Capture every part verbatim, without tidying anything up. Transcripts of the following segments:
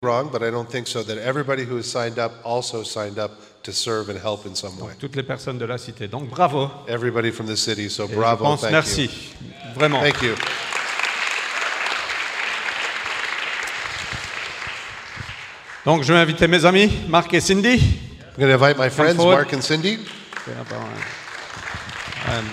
wrong, but I don't think so, that everybody who has signed up also signed up to serve and help in some way. Toutes les personnes de la cité. Donc bravo. Everybody from the city, so Et bravo, je pense, thank merci. you. Vraiment. Thank you. Donc je vais inviter mes amis, Marc et Cindy. I'm going to invite my friends, forward. Mark and Cindy. Euh,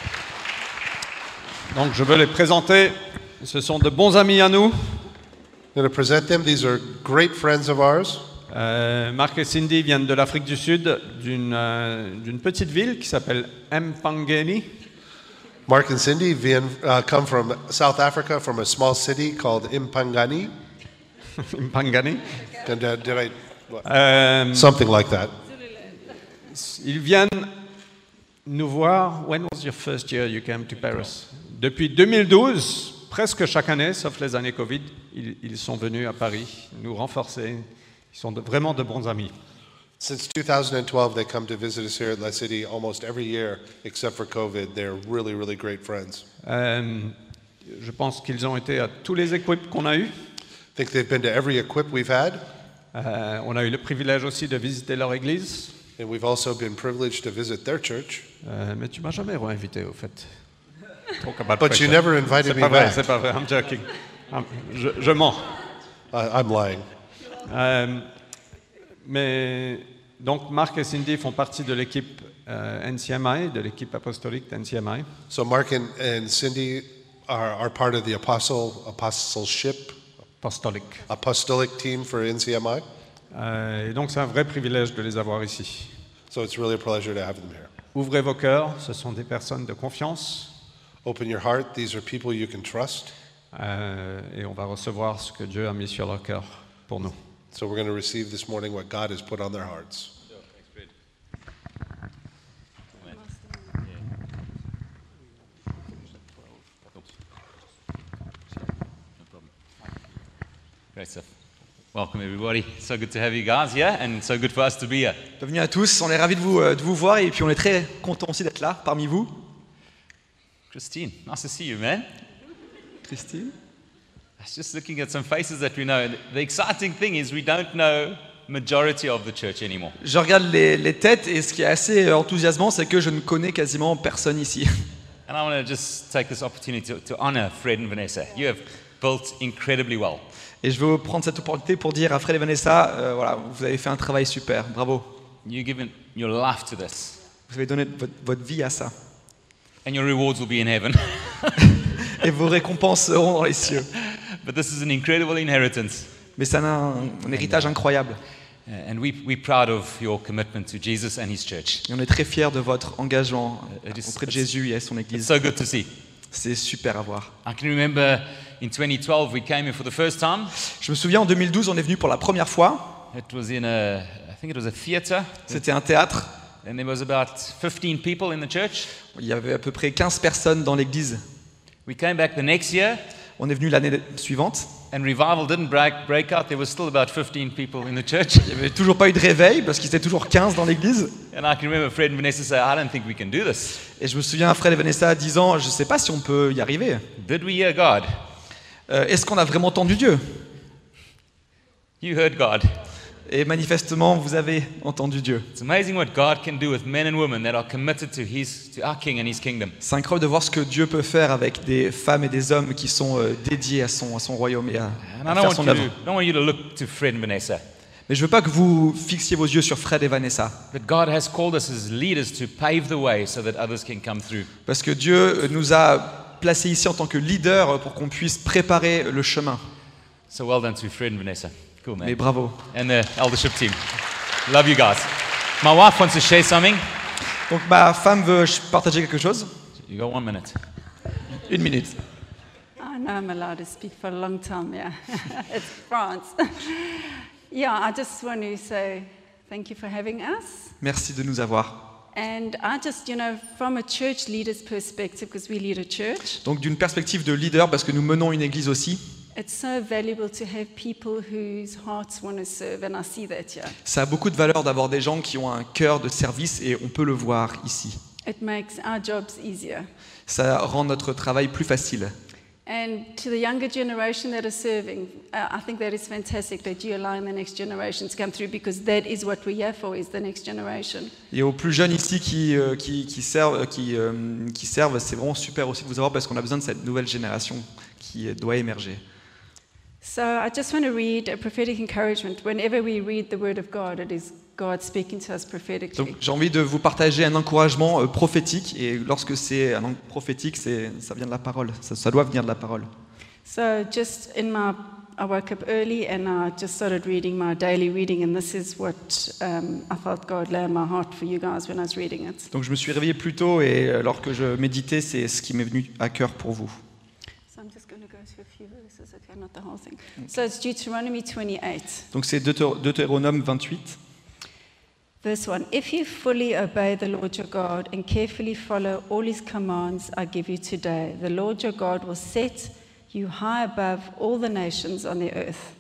Donc je veux les présenter. Ce sont de bons amis à nous. I'm going to present them. These are great friends of ours. Euh, Marc et Cindy viennent de l'Afrique du Sud, d'une euh, d'une petite ville qui s'appelle Mpangeni. Mark and Cindy vien, uh, come from South Africa, from a small city called Impangani. Mpangani. Did, uh, did I, what? Euh, Something like that. Ils viennent nous voir. When was your first year you came to Paris? Depuis deux mille douze, presque chaque année, sauf les années Covid, ils, ils sont venus à Paris nous renforcer. Ils sont de, vraiment de bons amis. Since two thousand twelve, they come to visit us here at La City almost every year, except for COVID. They're really, really great friends. Euh, je pense qu'ils ont été à tous les équipes qu'on a eues. I think they've been to every equip we've had, Euh, on a eu le privilège aussi de visiter leur église. and we've also been privileged to visit their church. Euh, mais tu m'as jamais réinvité, au fait. Talk about But you pressure. never invited C'est me pas vrai, back. c'est pas vrai. I'm joking. I'm- je, je mens. I, I'm lying. Euh, mais donc Marc et Cindy font partie de l'équipe euh, N C M I, de l'équipe apostolique d'N C M I. So Mark and, and Cindy are, are part of the apostle apostleship, Apostolique. apostolic team for N C M I. Euh, et donc c'est un vrai privilège de les avoir ici. So it's really a pleasure to have them here. Ouvrez vos cœurs, ce sont des personnes de confiance. Open your heart. These are people you can trust. Euh, et on va recevoir ce que Dieu a mis sur leur cœur pour nous. So we're going to receive this morning what God has put on their hearts. Great stuff. Welcome everybody. So good to have you guys here and so good for us to be here. Bienvenue à tous, on est ravis de vous, euh, de vous voir et puis on est très contents aussi d'être là parmi vous. Christine, nice to see you, man. Christine. I was just looking at some faces that we know. The exciting thing is we don't know majority of the church anymore. Je regarde les, les têtes et ce qui est assez euh, enthousiasmant, c'est que je ne connais quasiment personne ici. And I want to just take this opportunity to, to honor Fred and Vanessa. You have built incredibly well. Et je veux prendre cette opportunité pour dire à Fred et Vanessa, euh, voilà, vous avez fait un travail super, bravo. You've given your life to this. Vous avez donné votre, votre vie à ça. And your rewards will be in heaven. Et vos récompenses seront dans les cieux. But this is an incredible inheritance. Mais ça a un, un héritage incroyable. Uh, and we, we're proud of your commitment to Jesus and his church. Et on est très fiers de votre engagement It is- auprès de Jésus et à son It's Église. so good to see. C'est super à voir. I can remember in twenty twelve we came here for the first time. Je me souviens, en deux mille douze, on est venu pour la première fois. It was in a, I think it was a theater, C'était un théâtre. and there was about fifteen people in the church. Il y avait à peu près quinze personnes dans l'église. We came back the next year, On est venu l'année suivante. and revival didn't break, break out. There was still about fifteen people in the church. Il n'y avait toujours pas eu de réveil parce qu'ils étaient toujours quinze dans l'église. And I can remember Fred and Vanessa say, I don't think we can do this. Et je me souviens, Fred et Vanessa disant, je ne sais pas si on peut y arriver. Did we hear God? Euh, Est-ce qu'on a vraiment entendu Dieu? You heard God. Et manifestement, vous avez entendu Dieu. It's amazing what God can do with men and women that are committed to his, to our King and his kingdom. C'est incroyable de voir ce que Dieu peut faire avec des femmes et des hommes qui sont euh, dédiés à son, à son royaume et à, And à I don't faire want, son you œuvre. to, don't want you to look to Fred and Vanessa, Mais je ne veux pas que vous fixiez vos yeux sur Fred et Vanessa. but God has called us as leaders to pave the way so that others can come through. Parce que Dieu nous a placés ici en tant que leaders pour qu'on puisse préparer le chemin. So well done to Fred and Vanessa. Cool, man. Mais bravo. And the eldership team. Love you guys. My wife wants to share something. Donc ma femme veut partager quelque chose. You got one minute. Une minute. I know I'm allowed to speak for a long time, yeah. It's France. Yeah, I just want to say thank you for having us. Merci de nous avoir. And I just, you know, from a church leader's perspective, because we lead a church, Donc d'une perspective de leader, parce que nous menons une église aussi, it's so valuable to have people whose hearts want to serve, and I see that here. ça a beaucoup de valeur d'avoir des gens qui ont un cœur de service et on peut le voir ici. It makes our jobs easier. Ça rend notre travail plus facile. And to the younger generation that are serving, uh, I think that is fantastic that you allowing the next generation to come through because that is what we're here for, is the next generation. Et aux plus jeunes ici qui, euh, qui, qui servent, qui, euh, qui servent, c'est vraiment super aussi de vous avoir parce qu'on a besoin de cette nouvelle génération qui euh, doit émerger. So I just want to read a prophetic encouragement. Whenever we read the Word of God, it is God speaking to us prophetically. Donc j'ai envie de vous partager un encouragement euh, prophétique, et lorsque c'est un encouragement prophétique, c'est, ça vient de la parole, ça, ça doit venir de la parole. So just in my, I woke up early and I just started reading my daily reading, and this is what um, I felt God lay on my heart for you guys when I was reading it. Donc je me suis réveillé plus tôt, et euh, alors que je méditais, c'est ce qui m'est venu à cœur pour vous. So I'm just going to go through a few verses, okay, not the whole thing. So it's Deuteronomy twenty-eight. Donc c'est Deutéro- Deutéronome vingt-huit. Verse one, if you fully obey the Lord your God and carefully follow all his commands I give you today, the Lord your God will set you high above all the nations on the earth.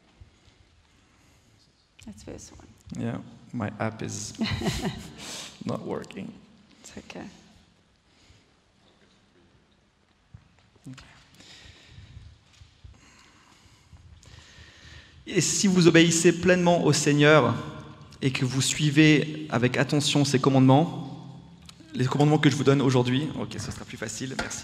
That's verse one. Yeah, my app is not working. It's okay. Et si vous obéissez pleinement au Seigneur et que vous suivez avec attention ses commandements, les commandements que je vous donne aujourd'hui, ok, ce sera plus facile, merci.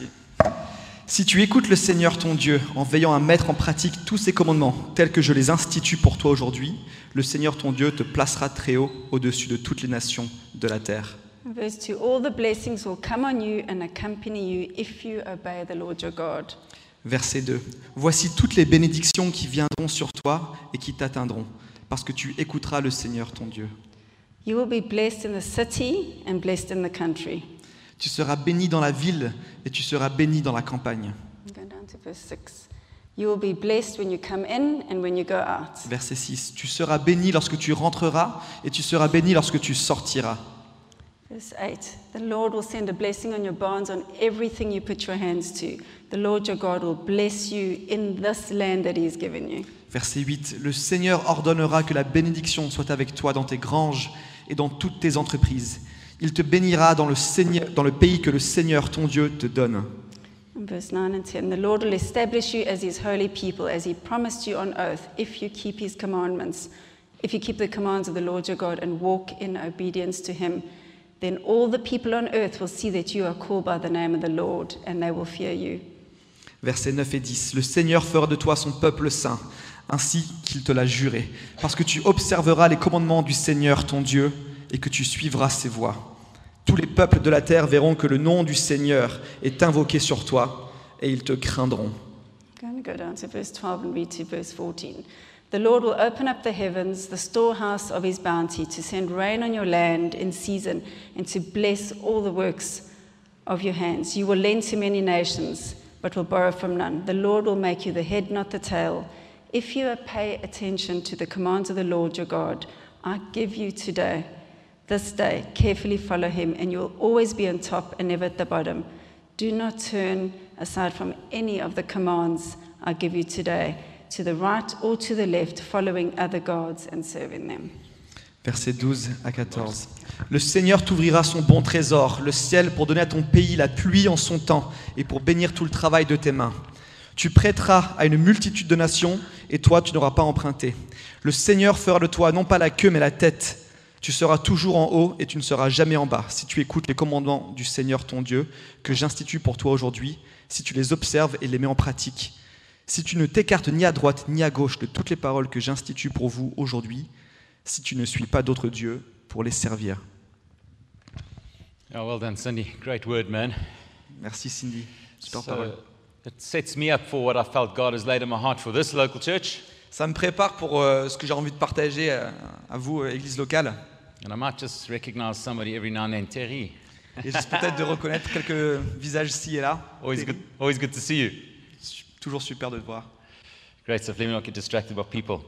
Si tu écoutes le Seigneur ton Dieu en veillant à mettre en pratique tous ses commandements tels que je les institue pour toi aujourd'hui, le Seigneur ton Dieu te placera très haut au-dessus de toutes les nations de la terre. Verse two, all the blessings will come on you and accompany you if you obey the Lord your God. Verset deux. Voici toutes les bénédictions qui viendront sur toi et qui t'atteindront, parce que tu écouteras le Seigneur ton Dieu. You will be blessed in the city and blessed in the country. Tu seras béni dans la ville et tu seras béni dans la campagne. I'm going down to verse six. You will be blessed when you come in and when you go out. Verset six. Tu seras béni lorsque tu rentreras et tu seras béni lorsque tu sortiras. Verse eight. The Lord will send a blessing on your barns, on everything you put your hands to. The Lord your God will bless you in this land that he has given you. Verset huit. Le Seigneur ordonnera que la bénédiction soit avec toi dans tes granges et dans toutes tes entreprises. Il te bénira dans le, Seigneur, dans le pays que le Seigneur ton Dieu te donne. And verse nine and ten. The Lord will establish you as his holy people, as he promised you on oath, if you keep his commandments, if you keep the commands of the Lord your God and walk in obedience to him. Then all the people on earth will see that you are called by the name of the Lord, and they will fear you. Versets neuf et dix. Le Seigneur fera de toi son peuple saint, ainsi qu'il te l'a juré, parce que tu observeras les commandements du Seigneur ton Dieu et que tu suivras ses voies. Tous les peuples de la terre verront que le nom du Seigneur est invoqué sur toi et ils te craindront. I'm going to go down to verse twelve and read to verse fourteen. The Lord will open up the heavens, the storehouse of his bounty, to send rain on your land in season and to bless all the works of your hands. You will lend to many nations, but will borrow from none. The Lord will make you the head, not the tail. If you pay attention to the commands of the Lord your God, I give you today, this day, carefully follow him, and you will always be on top and never at the bottom. Do not turn aside from any of the commands I give you today, to the right or to the left, following other gods and serving them. Versets douze à quatorze. Le Seigneur t'ouvrira son bon trésor, le ciel pour donner à ton pays la pluie en son temps et pour bénir tout le travail de tes mains. Tu prêteras à une multitude de nations et toi tu n'auras pas emprunté. Le Seigneur fera de toi non pas la queue mais la tête. Tu seras toujours en haut et tu ne seras jamais en bas si tu écoutes les commandements du Seigneur ton Dieu que j'institue pour toi aujourd'hui, si tu les observes et les mets en pratique. Si tu ne t'écartes ni à droite ni à gauche de toutes les paroles que j'institue pour vous aujourd'hui, si tu ne suis pas d'autres dieux pour les servir. Oh, well done, Cindy. Great word, man. Merci Cindy. Super parole. So it sets me up for what I felt God has laid in my heart for this local church. Ça me prépare pour euh, ce que j'ai envie de partager à, à vous, euh, Église locale. And I might just recognize somebody every now and then. Terry. Et juste peut-être de reconnaître quelques visages ci et là. Always good, always good to see you. Toujours super de te voir. Great stuff. Let me not get distracted by people.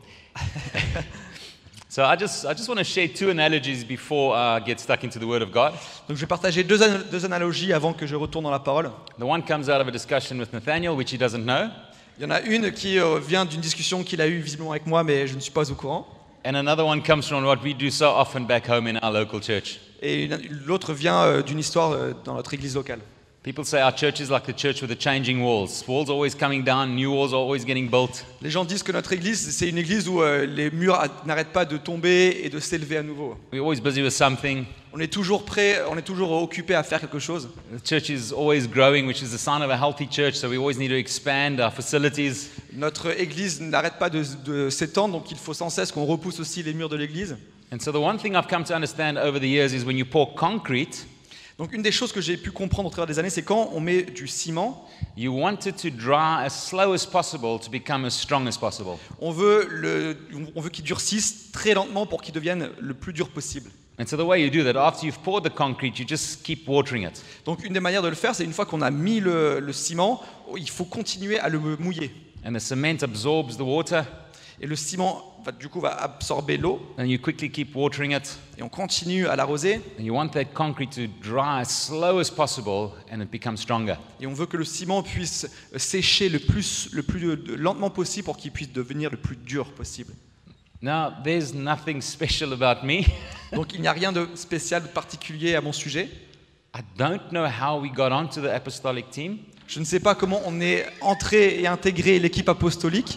So I just, I just want to share two analogies before I get stuck into the Word of God. Donc je vais partager deux, an- deux analogies avant que je retourne dans la parole. The one comes out of a discussion with Nathaniel, which he doesn't know. Il y en a une qui euh, vient d'une discussion qu'il a eue visiblement avec moi, mais je ne suis pas au courant. And another one comes from what we do so often back home in our local church. Et une- l'autre vient euh, d'une histoire euh, dans notre église locale. People say our church is like the church with the changing walls. Walls are always coming down, new walls are always getting built. Les gens disent que notre église, c'est une église où euh, les murs a- n'arrêtent pas de tomber et de s'élever à nouveau. We're always busy with something. On est toujours prêt, on est toujours occupé à faire quelque chose. The church is always growing, which is the sign of a healthy church, so we always need to expand our facilities. Notre église n'arrête pas de, de s'étendre, donc il faut sans cesse qu'on repousse aussi les murs de l'église. And so the one thing I've come to understand over the years is when you pour concrete, Donc une des choses que j'ai pu comprendre au travers des années, c'est quand on met du ciment, you want it to dry as slow as possible to become as strong as possible. on veut, le, on veut qu'il durcisse très lentement pour qu'il devienne le plus dur possible. And so the way you do that, after you've poured the concrete, you just keep watering it. Donc une des manières de le faire, c'est une fois qu'on a mis le, le ciment, il faut continuer à le mouiller. And the cement absorbs the water, Et le ciment, va, du coup, va absorber l'eau, and you quickly keep watering it. et on continue à l'arroser, And you want that concrete to dry as slow as possible, and it becomes stronger. et on veut que le ciment puisse sécher le plus, le plus lentement possible pour qu'il puisse devenir le plus dur possible. Now, there's nothing special about me. Donc il n'y a rien de spécial, de particulier à mon sujet. I don't know how we got onto the apostolic team. Je ne sais pas comment on est entré et intégré l'équipe apostolique.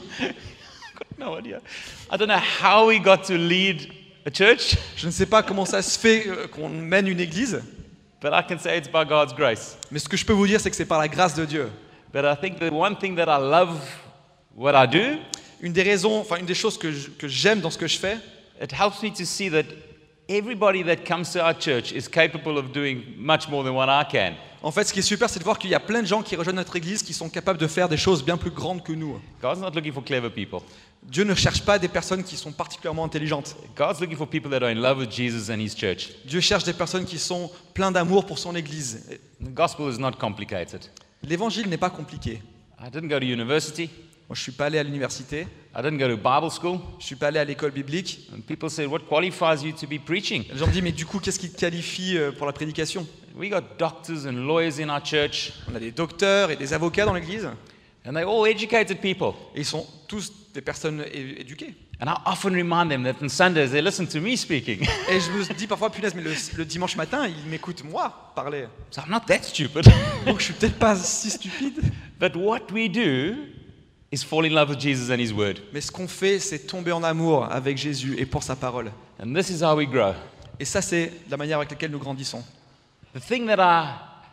No idea. I don't know how we got to lead a church, Je ne sais pas comment ça se fait euh, qu'on mène une église. but I can say it's by God's grace. Mais ce que je peux vous dire, c'est que c'est par la grâce de Dieu. But I think the one thing that I love what I do, Une des raisons, enfin une des choses que je- que j'aime dans ce que je fais, it helps me to see that everybody that comes to our church is capable of doing much more than what I can. en fait, ce qui est super, c'est de voir qu'il y a plein de gens qui rejoignent notre église qui sont capables de faire des choses bien plus grandes que nous. God's not looking for clever people. Dieu ne cherche pas des personnes qui sont particulièrement intelligentes. God's looking for people that are in love with Jesus and His church. Dieu cherche des personnes qui sont pleines d'amour pour son église. The gospel is not complicated. L'évangile n'est pas compliqué. I didn't go to university. Moi, je suis pas allé à l'université, I didn't go to Bible school. je suis pas allé à l'école biblique. And people said, what qualifies you to be preaching? Les gens me disent, mais du coup, qu'est-ce qui te qualifie euh, pour la prédication? We got doctors and lawyers in our church, On a des docteurs et des avocats dans l'église, and they're all educated people. et ils sont tous des personnes é- éduquées. And I often remind them that on Sundays they listen to me speaking. Et je me dis parfois, punaise, mais le, le dimanche matin, ils m'écoutent moi parler. So I'm not that stupid. Donc je suis peut-être pas si stupide. But what we do is fall in love with Jesus and His Word. Mais ce qu'on fait, c'est tomber en amour avec Jésus et pour sa parole. And this is how we grow. Et ça, c'est la manière avec laquelle nous grandissons. The thing that I,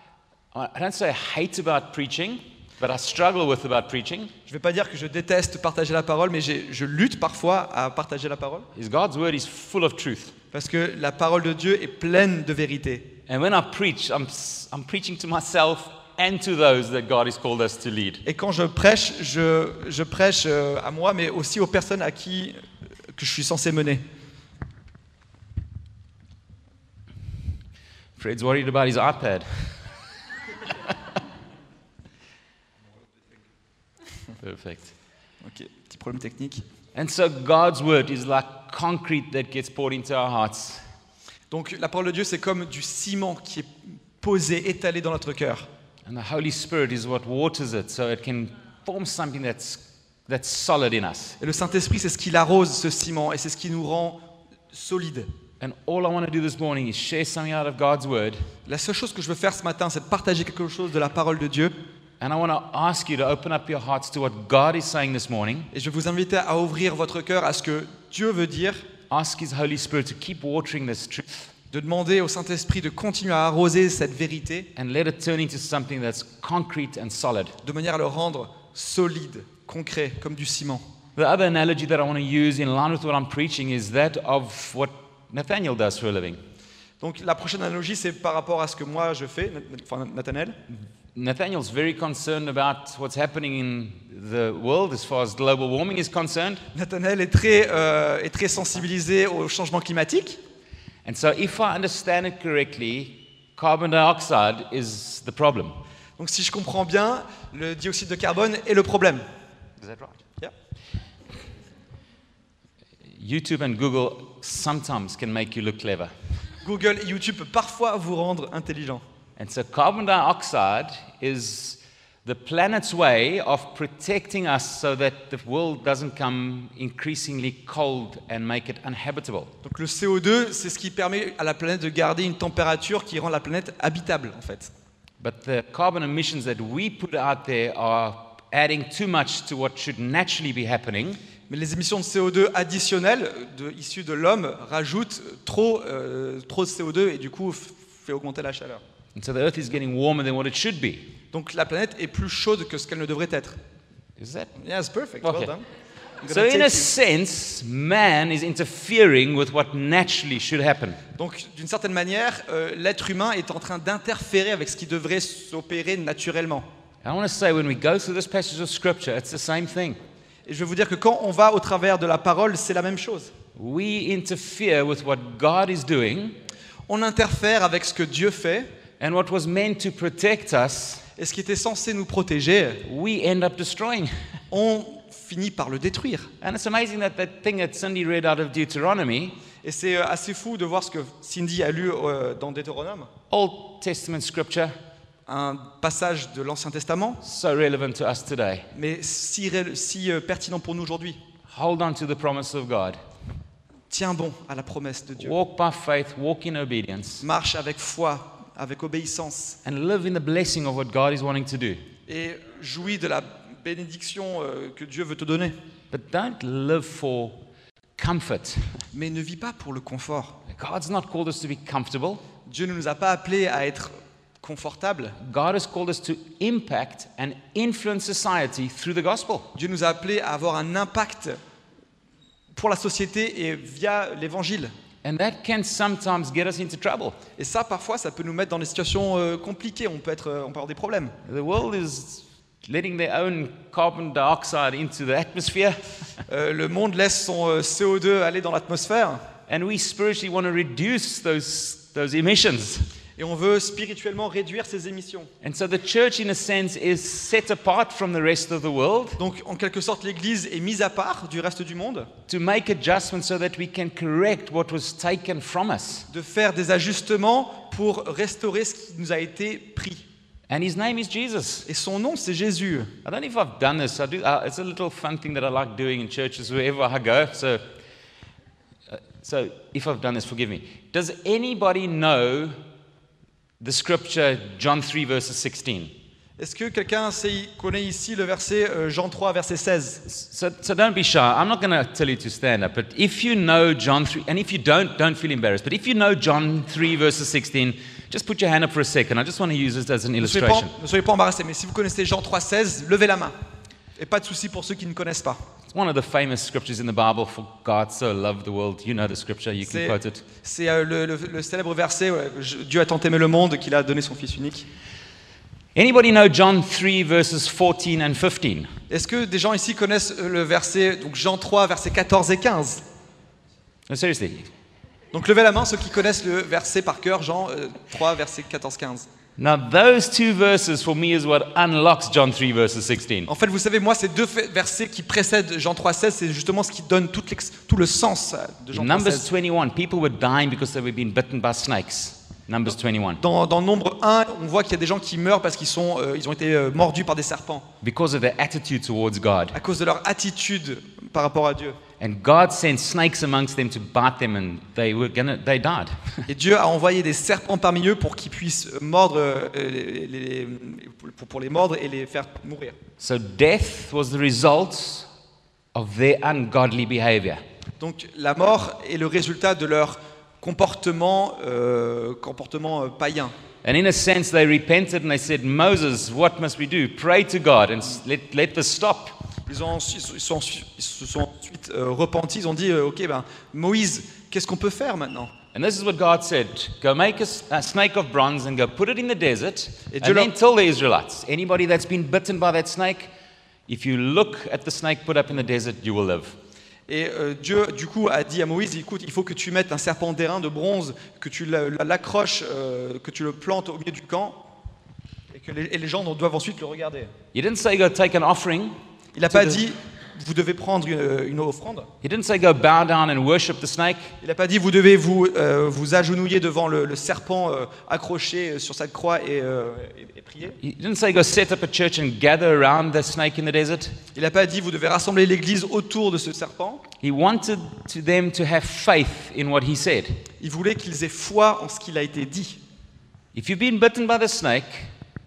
I don't say I hate about preaching, but I struggle with about preaching, Je ne vais pas dire que je déteste partager la parole, mais j'ai- je lutte parfois à partager la parole. is God's Word is full of truth. Parce que la parole de Dieu est pleine de vérité. And when I preach, I'm, s- I'm preaching to myself and to those that God has called us to lead. Et quand je prêche, je, je prêche euh, à moi, mais aussi aux personnes à qui euh, que je suis censé mener. Fred's worried about his iPad. Perfect. Ok, petit problème technique. And so God's Word is like concrete that gets poured into our hearts. Donc la parole de Dieu, c'est comme du ciment qui est posé, étalé dans notre cœur. And the Holy Spirit is what waters it so it can form something that's, that's solid in us. Et le Saint-Esprit, c'est ce qui l'arrose, ce ciment, et c'est ce qui nous rend solides. And all I want to do this morning is share something out of God's Word. La seule chose que je veux faire ce matin, c'est de partager quelque chose de la parole de Dieu. And I want to ask you to open up your hearts to what God is saying this morning. Et je vais vous inviter à ouvrir votre cœur à ce que Dieu veut dire, Ask His Holy Spirit to keep watering this truth de demander au Saint-Esprit de continuer à arroser cette vérité and let it turn into something that's concrete and solid. de manière à le rendre solide, concret, comme du ciment. The other analogy that I want to use in line with what I'm preaching is that of what Nathaniel does for a living. Donc la prochaine analogie, c'est par rapport à ce que moi je fais, enfin Nathanaël. Nathaniel's very concerned about what's happening in the world as far as global warming is concerned. Nathanaël est très, euh, est très sensibilisé au changement climatique. And so if I understand it correctly, carbon dioxide is the problem. Donc si je comprends bien, le dioxyde de carbone est le problème. Is that right? Yeah. YouTube and Google sometimes can make you look clever. Google et YouTube peuvent parfois vous rendre intelligent. And so carbon dioxide is the planet's way of protecting us so that the world doesn't come increasingly cold and make it uninhabitable. Donc le C O deux, c'est ce qui permet à la planète de garder une température qui rend la planète habitable en fait. But the carbon emissions that we put out there are adding too much to what should naturally be happening. Mais les émissions de C O deux additionnelles de, issues de l'homme rajoutent trop, euh, trop de C O deux et du coup f- fait augmenter la chaleur. And so the earth is getting warmer than what it should be. Donc la planète est plus chaude que ce qu'elle ne devrait être. Is that? Yes, perfect. Okay. Well done. I'm So gonna in take a you. sense, man is interfering with what naturally should happen. Donc d'une certaine manière, euh, l'être humain est en train d'interférer avec ce qui devrait s'opérer naturellement. I want to say when we go through this passage of scripture, it's the same thing. Et je vais vous dire que quand on va au travers de la parole, c'est la même chose. We interfere with what God is doing, On interfère avec ce que Dieu fait, and what was meant to protect us, et ce qui était censé nous protéger, we end up destroying. on finit par le détruire. And it's amazing that that thing that Cindy read out of Deuteronomy, Et c'est euh, assez fou de voir ce que Cindy a lu euh, dans Deutéronome, Old Testament scripture, un passage de l'Ancien Testament, so relevant to us today. mais si, ré- si euh, pertinent pour nous aujourd'hui. Hold on to the promise of God. Tiens bon à la promesse de Dieu. Walk by faith, walk in obedience, Marche avec foi, avec obéissance, and live in the blessing of what God is wanting to do. et jouis de la bénédiction euh, que Dieu veut te donner. But don't live for comfort. Mais ne vis pas pour le confort. God's not called us to be comfortable. Dieu ne nous a pas appelés à être confortables. God has called us to impact and influence society through the gospel. Dieu nous a appelés à avoir un impact pour la société et via l'évangile. And that can sometimes get us into trouble. Et ça, parfois, ça peut nous mettre dans des situations euh, compliquées. On peut, être, euh, on peut avoir des problèmes. The world is letting their own carbon dioxide into the atmosphere, Euh, le monde laisse son euh, C O deux aller dans l'atmosphère and we spiritually want to reduce those, those emissions. et on veut spirituellement réduire ces émissions. And so the church, in a sense, is set apart from the rest of the world Donc, en quelque sorte, l'Église est mise à part du reste du monde, to make adjustments so that we can correct what was taken from us. de faire des ajustements pour restaurer ce qui nous a été pris. And his name is Jesus. Et son nom, c'est Jésus. I don't know if I've done this. I do. Uh, it's a little fun thing that I like doing in churches wherever I go. So, uh, so if I've done this, forgive me. Does anybody know the scripture John three verses sixteen? Est-ce que quelqu'un sait- connaît ici le verset euh, Jean trois, verset seize? So, so don't be shy. I'm not going to tell you to stand up, but if you know John three, and if you don't, don't feel embarrassed. But if you know John three verses sixteen, just put your hand up for a second. I just want to use this as an Ne soyez, pas, illustration. ne soyez pas embarrassés, mais si vous connaissez Jean trois, seize, levez la main. Et pas de souci pour ceux qui ne connaissent pas. It's one of the famous scriptures in the Bible. For God so loved the world. You know the scripture. You can C'est quote it. c'est, euh, le, le- le célèbre verset ouais, je- Dieu a tant aimé le monde qu'il a donné son Fils unique. Anybody know John three verses fourteen and fifteen? Est-ce que des gens ici connaissent euh, le verset, donc Jean trois, versets quatorze et quinze? No, seriously. Donc levez la main ceux qui connaissent le verset par cœur, Jean euh, trois, versets quatorze quinze. Now, those two verses for me is what unlocks John three verses sixteen. En fait, vous savez, moi, ces deux fa- versets qui précèdent Jean trois, seize, c'est justement ce qui donne tout, l'ex- tout le sens euh, de Jean In trois, Numbers seize. twenty-one, people were dying because they were being bitten by snakes. Numbers twenty-one. Dans, dans Nombre un, on voit qu'il y a des gens qui meurent parce qu'ils sont, euh, ils ont été euh, mordus par des serpents, Because of their attitude towards God. à cause de leur attitude par rapport à Dieu. And God sent snakes amongst them to bite them, and they were gonna, they died. Et Dieu a envoyé des serpents parmi eux pour qu'ils puissent mordre, euh, les, les- pour, pour les mordre et les faire mourir. So death was the result of their ungodly behavior. Donc la mort est le résultat de leur comportement, euh, comportement euh, païen. And in a sense, they repented and they said, Moses, what must we do? Pray to God and s- let, let this stop. Ils, ont, ensuite- ils, sont, ils se sont ensuite euh, repentis, ils ont dit, euh, ok, ben, Moïse, qu'est-ce qu'on peut faire maintenant? And this is what God said: go make a, s- a snake of bronze and go put it in the desert, Et Dieu and then leur- tell the Israelites, anybody that's been bitten by that snake, if you look at the snake put up in the desert, you will live. Et euh, Dieu, du coup, a dit à Moïse, écoute, il faut que tu mettes un serpent d'airain de bronze, que tu l'a- l'accroches, euh, que tu le plantes au milieu du camp, et que les, et les gens doivent ensuite le regarder. He didn't say go take an offering. Il n'a pas dit, vous devez prendre une, une offrande. He didn't say go bow down and worship the snake. Il n'a pas dit, vous devez vous, euh, vous agenouiller devant le, le serpent euh, accroché sur sa croix et, euh, et- et prier. He didn't say go set up a church and gather around the snake in the desert. Il n'a pas dit, vous devez rassembler l'église autour de ce serpent. He wanted to them to have faith in what he said. Il voulait qu'ils aient foi en ce qu'il a été dit. If you've been bitten by the snake,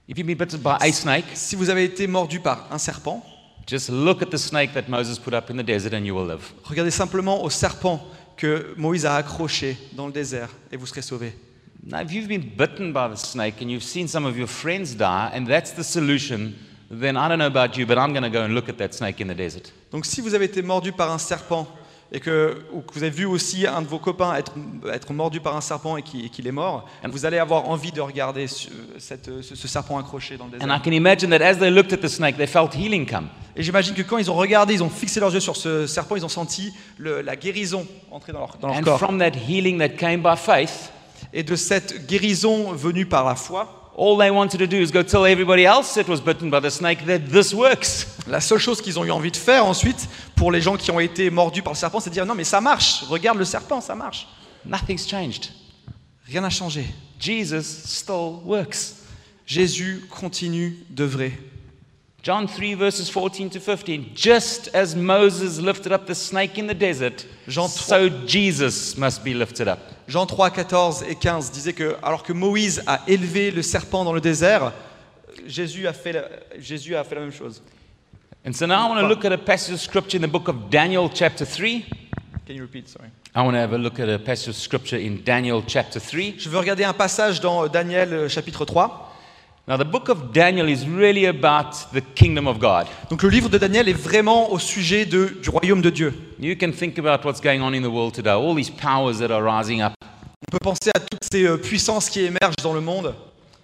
If you've been bitten by a snake, Si vous avez été mordu par un serpent, just look at the snake that Moses put up in the desert and you will live. regardez simplement au serpent que Moïse a accroché dans le désert et vous serez sauvés. Now, if you've been bitten by the snake and you've seen some of your friends die, and that's the solution, then I don't know about you, but I'm going to go and look at that snake in the desert. Donc si vous avez été mordu par un serpent et que, ou que vous avez vu aussi un de vos copains être, être mordu par un serpent et qui- et qu'il est mort, vous allez avoir envie de regarder ce, cette- ce- ce serpent accroché dans le And I désert. can imagine that as they looked at the snake, they felt healing come. Et j'imagine que quand ils ont regardé, ils ont fixé leurs yeux sur ce serpent, ils ont senti le- la guérison entrer dans leur, dans leur And corps. from that healing that came by faith, Et de cette guérison venue par la foi, all they wanted to do is go tell everybody else that was bitten by the snake that this works. la seule chose qu'ils ont eu envie de faire ensuite, pour les gens qui ont été mordus par le serpent, c'est de dire non mais ça marche, regarde le serpent, ça marche. Nothing's changed. Rien n'a changé. Jesus still works. Jésus continue d'œuvrer. John three, verses fourteen to fifteen. Just as Moses lifted up the snake in the desert, Jean so Jesus must be lifted up. Jean trois, quatorze et quinze disaient que alors que Moïse a élevé le serpent dans le désert, Jésus a fait la, Jésus a fait la même chose. And so now I want to look at a passage of scripture in the book of Daniel, chapter three. Can you repeat, sorry? I want to have a look at a passage of scripture in Daniel, chapter three. Je veux regarder un passage dans Daniel euh, chapitre trois. Now, the book of Daniel is really about the kingdom of God. Donc le livre de Daniel est vraiment au sujet de, du royaume de Dieu. You can think about what's going on in the world today, all these powers that are rising up. On peut penser à toutes ces euh, puissances qui émergent dans le monde.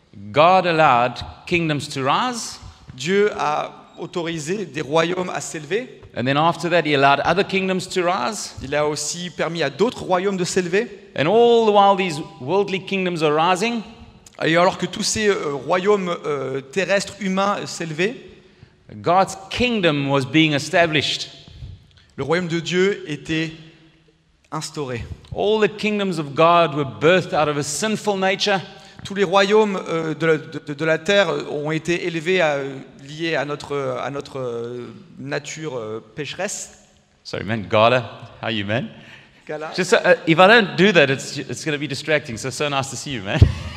God allowed kingdoms to rise, Dieu a autorisé des royaumes à s'élever. and then after that, He allowed other kingdoms to rise. Il a aussi permis à d'autres royaumes de s'élever. And all the while these worldly kingdoms are rising, Et alors que tous ces euh, royaumes euh, terrestres humains euh, s'élevaient, God's kingdom was being established. le royaume de Dieu était instauré. All the kingdoms of God were birthed out of a sinful nature, Tous les royaumes euh, de, la, de- de la terre ont été élevés à, liés à notre, à notre euh, nature euh, pécheresse. sorry man, Gala, how you man? Gala. Just so, uh, if I don't do that, it's, it's going to be distracting. So, so nice to see you, man.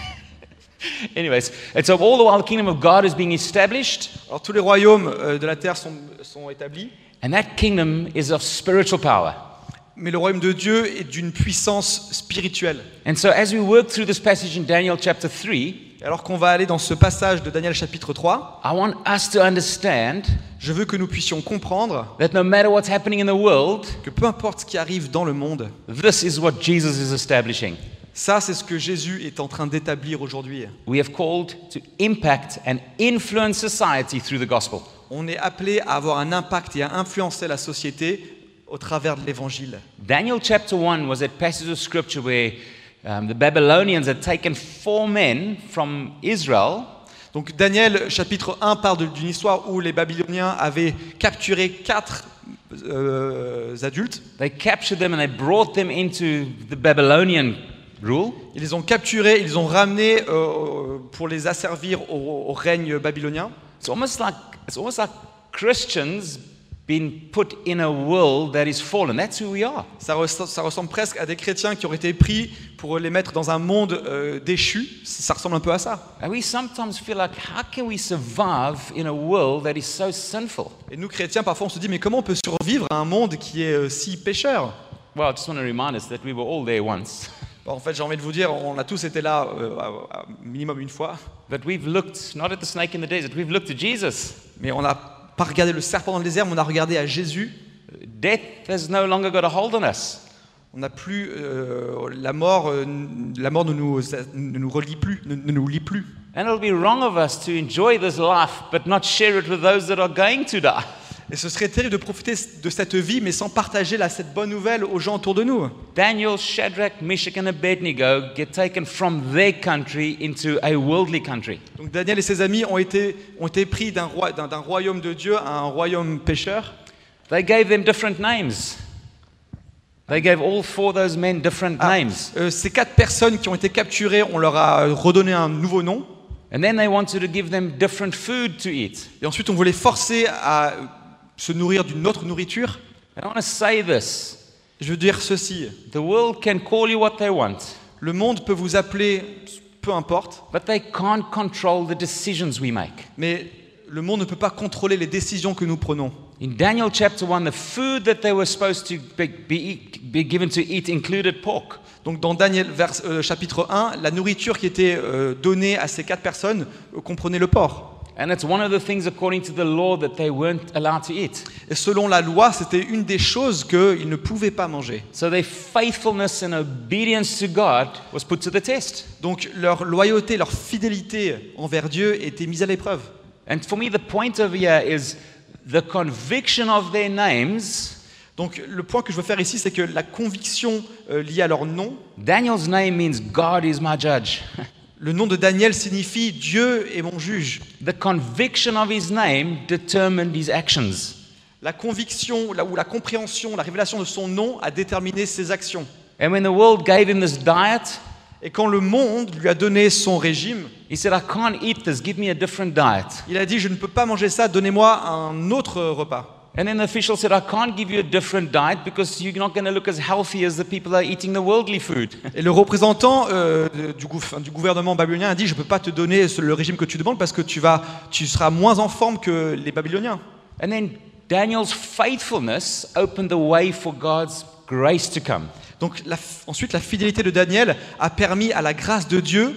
Anyways, and so all the while the kingdom of God is being established, Alors tous les royaumes euh, de la terre sont, sont établis, and that kingdom is of spiritual power. mais le royaume de Dieu est d'une puissance spirituelle. And so, as we work through this passage in Daniel chapter three, Et alors qu'on va aller dans ce passage de Daniel chapitre trois, I want us to understand je veux que nous puissions comprendre that no matter what's happening in the world, que peu importe ce qui arrive dans le monde, this is what Jesus is establishing. ça c'est ce que Jésus est en train d'établir aujourd'hui. We have called to impact and influence society through the gospel. On est appelé à avoir un impact et à influencer la société au travers de l'évangile. Daniel chapter one was that passage of scripture where um, the Babylonians had taken four men from Israel Donc Daniel chapitre un parle de- d'une histoire où les Babyloniens avaient capturé quatre euh, adultes. They captured them and they brought them into the Babylonian rule. Ils les ont capturés, ils les ont ramenés euh, pour les asservir au, au règne babylonien. It's almost like it's almost like Christians being put in a world that is fallen. That's who we are. Ça, res- ça ressemble presque à des chrétiens qui auraient été pris pour les mettre dans un monde euh, déchu. Ça ressemble un peu à ça. And we sometimes feel like, how can we survive in a world that is so sinful? Et nous chrétiens, parfois on se dit, mais comment on peut survivre à un monde qui est euh, si pécheur? Well, I just want to remind us that we were all there once. Bon, en fait, j'ai envie de vous dire, on a tous été là euh, à- à minimum une fois, But we've looked not at the snake in the desert, we've looked at Jesus. mais on n'a pas regardé le serpent dans le désert, mais on a regardé à Jésus. Death has no longer got a hold on us. On n'a plus euh, la mort, euh, la mort ne nous, ne nous relie plus, ne, ne nous lie plus. And it'll be wrong of us to enjoy this life but not share it with those that are going to die. Et ce serait terrible de profiter de cette vie, mais sans partager là, cette bonne nouvelle aux gens autour de nous. Daniel, Shadrach, Meshach, and Abednego get taken from their country into a worldly country. Donc Daniel et ses amis ont été, ont été pris d'un, roi, d'un, d'un royaume de Dieu à un royaume pécheur. They gave them different names. They gave all four of those men different Ah, names. euh, ces quatre personnes qui ont été capturées, on leur a redonné un nouveau nom. And then they wanted to give them different food to eat. Et ensuite, on voulait forcer à se nourrir d'une autre nourriture. And I want to say this. Je veux dire ceci. The world can call you what they want. Le monde peut vous appeler peu importe. but they can't control the decisions we make. Mais le monde ne peut pas contrôler les décisions que nous prenons. In Daniel chapter one, the food that they were supposed to be, be, be given to eat included pork. Donc dans Daniel vers, euh, chapitre un, la nourriture qui était euh, donnée à ces quatre personnes euh, comprenait le porc. And it's one of the things according to the law that they weren't allowed to eat. Et selon la loi, c'était une des choses qu'ils ne pouvaient pas manger. So their faithfulness and obedience to God was put to the test. Donc leur loyauté, leur fidélité envers Dieu était mise à l'épreuve. And for me, the point over here is the conviction of their names. Donc le point que je veux faire ici, c'est que la conviction euh, liée à leur nom, Daniel's name means God is my judge. le nom de Daniel signifie Dieu est mon juge. The conviction of his name determined his actions. La conviction la, ou la compréhension, la révélation de son nom a déterminé ses actions. And when the world gave him this diet, Et quand le monde lui a donné son régime, he said, I can't eat this, give me a different diet. il a dit, je ne peux pas manger ça, donnez-moi un autre repas. And then the official said, I can't give you a different diet because you're not going to look as healthy as the people that are eating the worldly food. Et le représentant euh, du, gou- enfin, du gouvernement babylonien a dit, je ne peux pas te donner ce- le régime que tu demandes parce que tu, vas, tu seras moins en forme que les Babyloniens. And then Daniel's faithfulness opened the way for God's grace to come. Donc la f- ensuite, la fidélité de Daniel a permis à la grâce de Dieu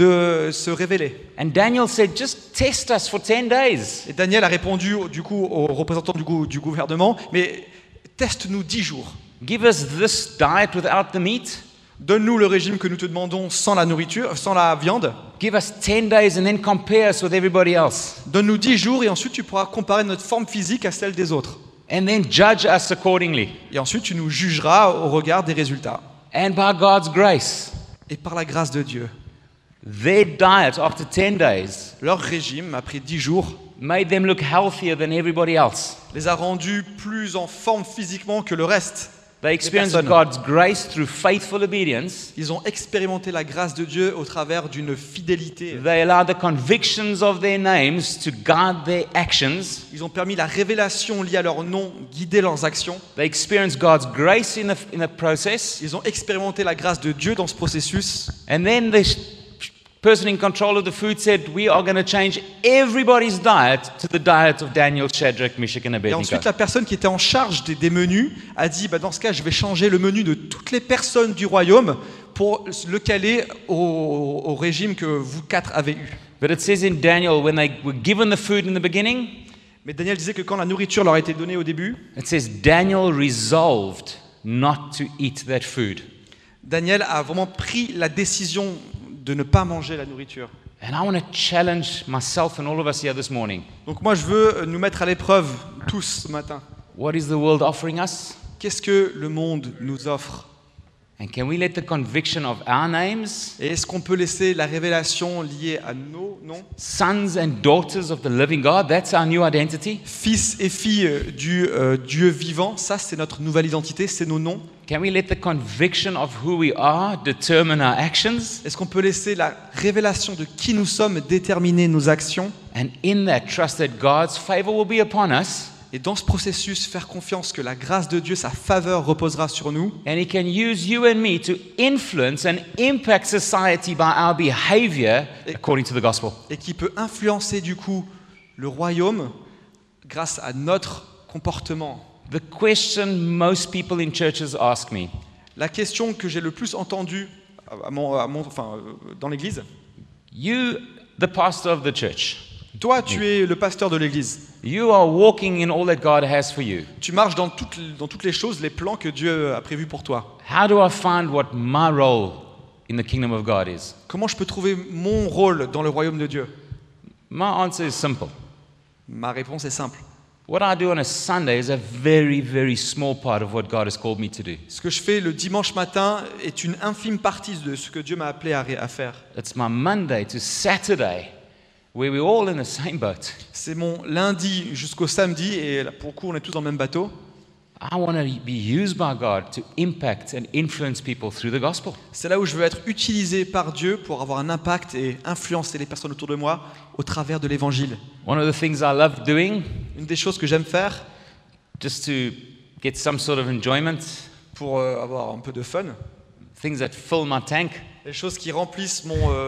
de se révéler. And Daniel said, just test us for ten days. Et Daniel a répondu du coup aux représentants du, gou- du gouvernement, mais teste-nous dix jours. Give us this diet without the meat. Donne-nous le régime que nous te demandons sans la nourriture, sans la viande. Give us ten days and then compare us with everybody else. Donne-nous dix jours et ensuite tu pourras comparer notre forme physique à celle des autres. And then judge us accordingly. Et ensuite tu nous jugeras au regard des résultats. And by God's grace, Et par la grâce de Dieu, their diet after ten days leur régime, après dix jours, made them look healthier than everybody else. les a rendus plus en forme physiquement que le reste. They experienced personnes. God's grace through faithful obedience. Ils ont expérimenté la grâce de Dieu au travers d'une fidélité. They allowed the convictions of their names to guide their actions. Ils ont permis la révélation liée à leur nom guider leurs actions. They experienced God's grace in the, in the process. Ils ont expérimenté la grâce de Dieu dans ce processus. And then the sh- person in control of the food said, we are going to change everybody's diet to the diet of Daniel, Shadrach, Meshach, and Et Abednego. ensuite, la personne qui était en charge des, des menus a dit, bah, dans ce cas, je vais changer le menu de toutes les personnes du royaume pour le caler au, au régime que vous quatre avez eu. But it says in Daniel, when they were given the food in the beginning, Mais Daniel disait que quand la nourriture leur a été donnée au début, it says Daniel resolved not to eat that food. Daniel a vraiment pris la décision de ne pas manger la nourriture. And I want to challenge myself and all of us here this morning. Donc moi, je veux nous mettre à l'épreuve tous ce matin. What is the world offering us? Qu'est-ce que le monde nous offre? And can we let the conviction of our names, Et est-ce qu'on peut laisser la révélation liée à nos noms, sons and daughters of the living God, that's our new identity? fils et filles du euh, Dieu vivant, ça c'est notre nouvelle identité, c'est nos noms. Can we let the conviction of who we are determine our actions? Est-ce qu'on peut laisser la révélation de qui nous sommes déterminer nos actions? And in that, trust that God's favor will be upon us, Et dans ce processus, faire confiance que la grâce de Dieu, sa faveur reposera sur nous. and He can use you and me to influence and impact society by our behavior according to the gospel. Et qui peut influencer du coup le royaume grâce à notre comportement. The question most people in churches ask me, La question que j'ai le plus entendue à mon, à mon- enfin, euh, dans l'église, you, the pastor of the church, toi tu es le pasteur de l'église, you are walking in all that God has for you. tu marches dans toutes, dans toutes les choses, les plans que Dieu a prévus pour toi. How do I find what my role in the kingdom of God is? Comment je peux trouver mon rôle dans le royaume de Dieu? My answer is simple. Ma réponse est simple. What I do on a Sunday is a very, very small part of what God has called me to do. Ce que je fais le dimanche matin est une infime partie de ce que Dieu m'a appelé à, ré- à faire. It's my Monday to Saturday where we're all in the same boat. C'est mon lundi jusqu'au samedi, et là, pour le coup, on est tous dans le même bateau. I want to be used by God to impact and influence people through the gospel. C'est là où je veux être utilisé par Dieu pour avoir un impact et influencer les personnes autour de moi au travers de l'évangile. One of the things I love doing, Une des choses que j'aime faire just to get some sort of enjoyment, pour euh, avoir un peu de fun, things that fill my tank, les choses qui remplissent mon, euh,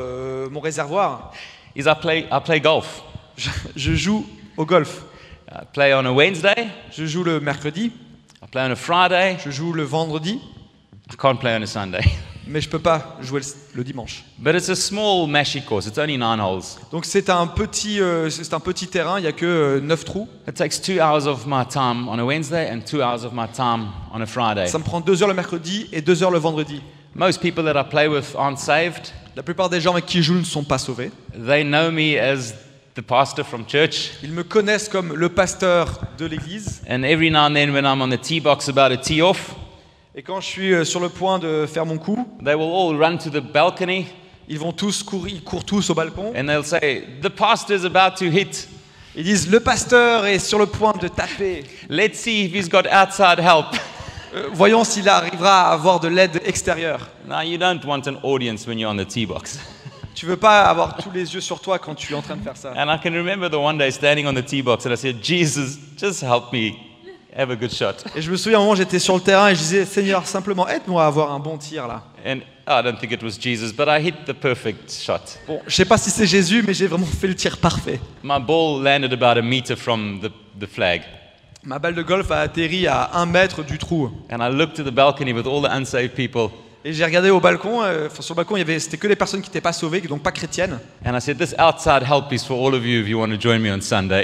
euh, mon réservoir, is I play, I play golf. je, je joue au golf. I play on a Wednesday, Je joue le mercredi, I play on a Friday, je joue le vendredi, I can't play on a Sunday. mais je peux pas jouer le, le dimanche. But it's a small mashy course, it's only nine holes. Donc c'est un petit, euh, c'est un petit terrain, il n'y a que euh, neuf trous. It takes two hours of my time on a Wednesday and two hours of my time on a Friday. Ça me prend deux heures le mercredi et deux heures le vendredi. Most people that I play with aren't saved. La plupart des gens avec qui je joue ne sont pas sauvés. They know me as the pastor from church. Ils me connaissent comme le pasteur de l'église. And every now and then when I'm on the tee box about to tee off, Et quand je suis euh, sur le point de faire mon coup, they will all run to the balcony ils vont tous courir, ils courent tous au balcon. and they'll say, the pastor's about to hit. Ils disent le pasteur est sur le point de taper. Let's see if he's got outside help. Euh, voyons s'il arrivera à avoir de l'aide extérieure. Now, you don't want an audience when you're on the tee box. Tu veux pas avoir tous les yeux sur toi quand tu es en train de faire ça. And I can remember the one day standing on the tee box and I said, Jesus, just help me have a good shot. Et je me souviens, à un moment, j'étais sur le terrain et je disais, Seigneur, simplement aide-moi à avoir un bon tir là. And I don't think it was Jesus, but I hit the perfect shot. Bon, je sais pas si c'est Jésus, mais j'ai vraiment fait le tir parfait. My ball landed about a meter from the, the flag. Ma balle de golf a atterri à un mètre du trou. And I looked to the balcony with all the unsaved people. Et j'ai regardé au balcon, euh, enfin, sur le balcon, il y avait, c'était que les personnes qui n'étaient pas sauvées, donc pas chrétiennes. And I said, this outside help is for all of you if you want to join me on Sunday.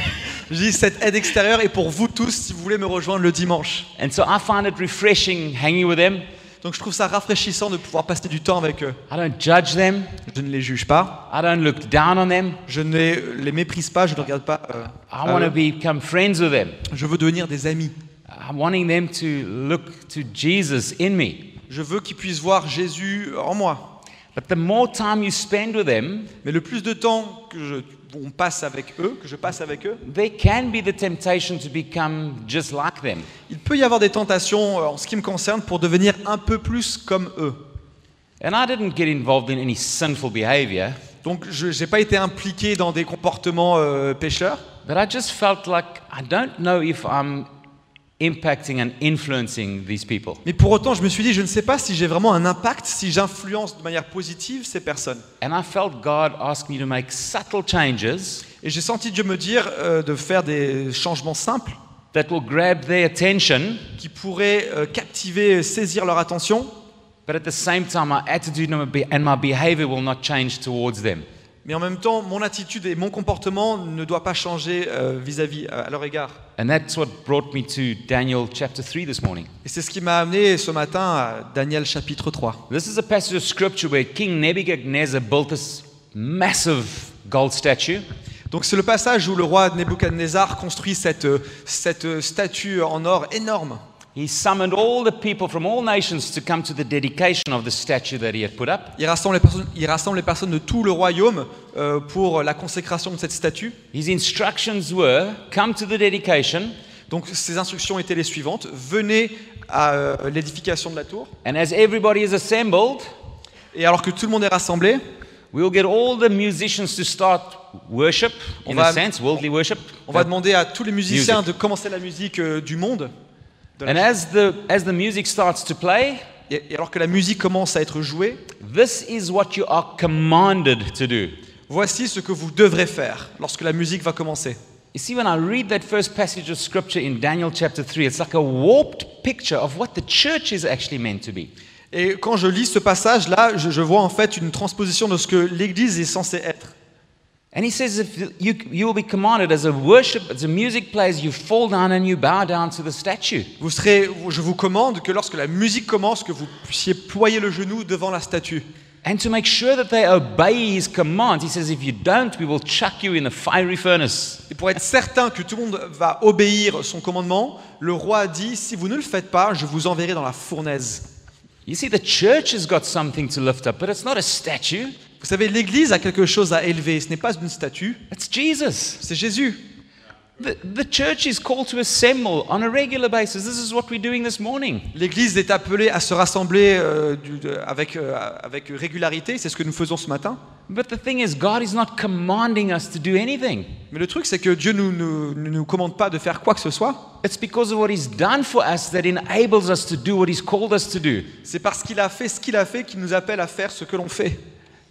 Je dis, cette aide extérieure est pour vous tous si vous voulez me rejoindre le dimanche. And so I find it refreshing hanging with them. Donc je trouve ça rafraîchissant de pouvoir passer du temps avec eux. I don't judge them. Je ne les juge pas, I don't look down on them. je ne les, les méprise pas, je ne regarde pas. euh, I à want to eux. become friends with them. Je veux devenir des amis. I'm wanting them to look to Jesus in me. Je veux qu'ils puissent voir Jésus en moi. But the more time you spend with them, Mais le plus de temps que je, on passe avec eux, que je passe avec eux, there can be the temptation to become just like them. il peut y avoir des tentations, euh, en ce qui me concerne, pour devenir un peu plus comme eux. And I didn't get involved in any sinful behavior, Donc je n'ai pas été impliqué dans des comportements euh, pécheurs, but I just felt like I don't know if I'm impacting and influencing these people. mais pour autant je me suis dit, je ne sais pas si j'ai vraiment un impact, si j'influence de manière positive ces personnes. And I felt God ask me to make subtle changes Et j'ai senti Dieu me dire euh, de faire des changements simples that will grab their attention, qui pourraient euh, captiver, saisir leur attention, but at the same time, my attitude and my be- and my behavior will not change towards them. mais en même temps, mon attitude et mon comportement ne doivent pas changer euh, vis-à-vis, à leur égard. And that's what brought me to Daniel chapter three this morning. Et c'est ce qui m'a amené ce matin à Daniel chapitre trois. This is a passage of scripture where King Nebuchadnezzar built this massive gold statue. Donc c'est le passage où le roi Nebuchadnezzar construit cette, euh, cette euh, statue en or énorme. He summoned all the people from all nations to come to the dedication of the statue that he had put up. Il rassemble les personnes, il rassemble les personnes de tout le royaume euh, pour la consécration de cette statue. His instructions were, come to the dedication, Donc ses instructions étaient les suivantes. Venez à euh, l'édification de la tour. and as everybody is assembled, Et alors que tout le monde est rassemblé, we will get all the musicians to start worship, On in va- a sense, worldly worship. on va demander à tous les musiciens Music. de commencer la musique euh, du monde. De la- And as the, as the music starts to play, Et, et alors que la musique commence à être jouée, this is what you are commanded to do. voici ce que vous devrez faire lorsque la musique va commencer. You see, when I read that first passage of scripture in Daniel chapter three, it's like a warped picture of what the church is actually meant to be. Et quand je lis ce passage-là, je, je vois en fait une transposition de ce que l'Église est censée être. And he says, if you, you will be commanded as a worship, as the music plays, you fall down and you bow down to the statue. Vous serez, je vous commande que lorsque la musique commence, que vous puissiez ployer le genou devant la statue. And to make sure that they obey his commands, he says, if you don't, we will chuck you in the fiery furnace. Et pour être certain que tout le monde va obéir son commandement, le roi a dit, si vous ne le faites pas, je vous enverrai dans la fournaise. You see, the church has got something to lift up, but it's not a statue, Vous savez, l'Église a quelque chose à élever. Ce n'est pas une statue, it's Jesus. c'est Jésus. The, the church is called to assemble on a regular basis. This is what we're doing this morning. L'Église est appelée à se rassembler euh, du- de- avec, euh, avec régularité. C'est ce que nous faisons ce matin. But the thing is, God is not commanding us to do anything. Mais le truc, c'est que Dieu ne nous, nous, ne nous commande pas de faire quoi que ce soit. It's because of what He's done for us that enables us to do what He's called us to do. C'est parce qu'il a fait ce qu'il a fait qu'il nous appelle à faire ce que l'on fait.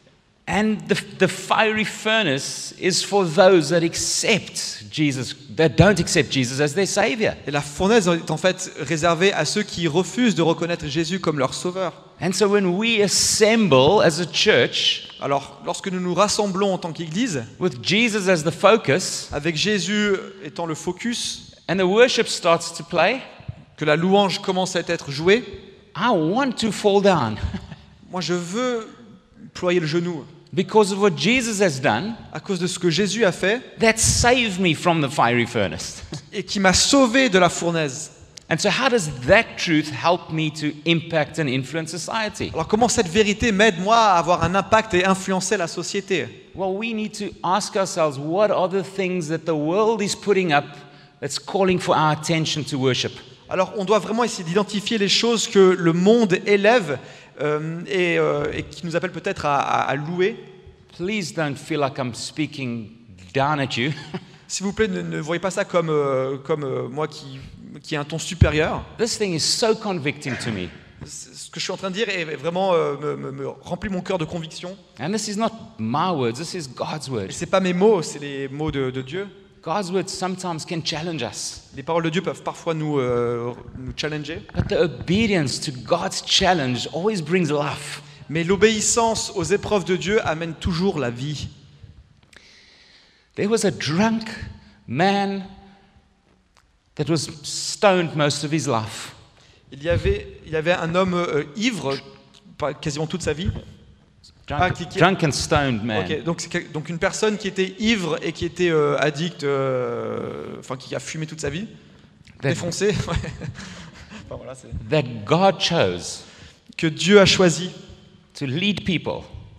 And the, the fiery furnace is for those that accept Jesus, that don't accept Jesus as their Savior. Et la fournaise est en fait réservée à ceux qui refusent de reconnaître Jésus comme leur sauveur. And so when we assemble as a church Alors, lorsque nous nous rassemblons en tant qu'Église, with Jesus as the focus avec Jésus étant le focus, and the worship starts to play, que la louange commence à être jouée, I want to fall down moi je veux ployer le genou because of what Jesus has done à cause de ce que Jésus a fait that saved me from the fiery furnace. et qui m'a sauvé de la fournaise. And so how does that truth help me to impact and influence society? Alors comment cette vérité m'aide moi à avoir un impact et influencer la société? Well, we need to ask ourselves, what are the things that the world is putting up that's calling for our attention to worship? Alors on doit vraiment essayer d'identifier les choses que le monde élève euh, et, euh, et qui nous appelle peut-être à, à, à louer. Please don't feel like I'm speaking down at you. S'il vous plaît, ne, ne voyez pas ça comme, euh, comme euh, moi qui, qui ai un ton supérieur. This thing is so convicting to me. Ce que je suis en train de dire est vraiment euh, me, me, me remplit mon cœur de conviction. And this is not my words, this is God's Et word. c'est pas mes mots, c'est les mots de, de Dieu. God's words sometimes can challenge us. Les paroles de Dieu peuvent parfois nous, euh, nous challenger. But the obedience to God's challenge always brings life. Mais l'obéissance aux épreuves de Dieu amène toujours la vie. There was a drunk man that was stoned most of his life. Il y avait, il y avait un homme euh, ivre pas- quasiment toute sa vie. Drunk, Ah, qui- qui- drunk and stoned man. Ok, donc, c'est quel- donc une personne qui était ivre et qui était euh, addict, euh, enfin qui a fumé toute sa vie, That- défoncé, ouais. Enfin, voilà, c'est- That God chose que Dieu a choisi to lead people.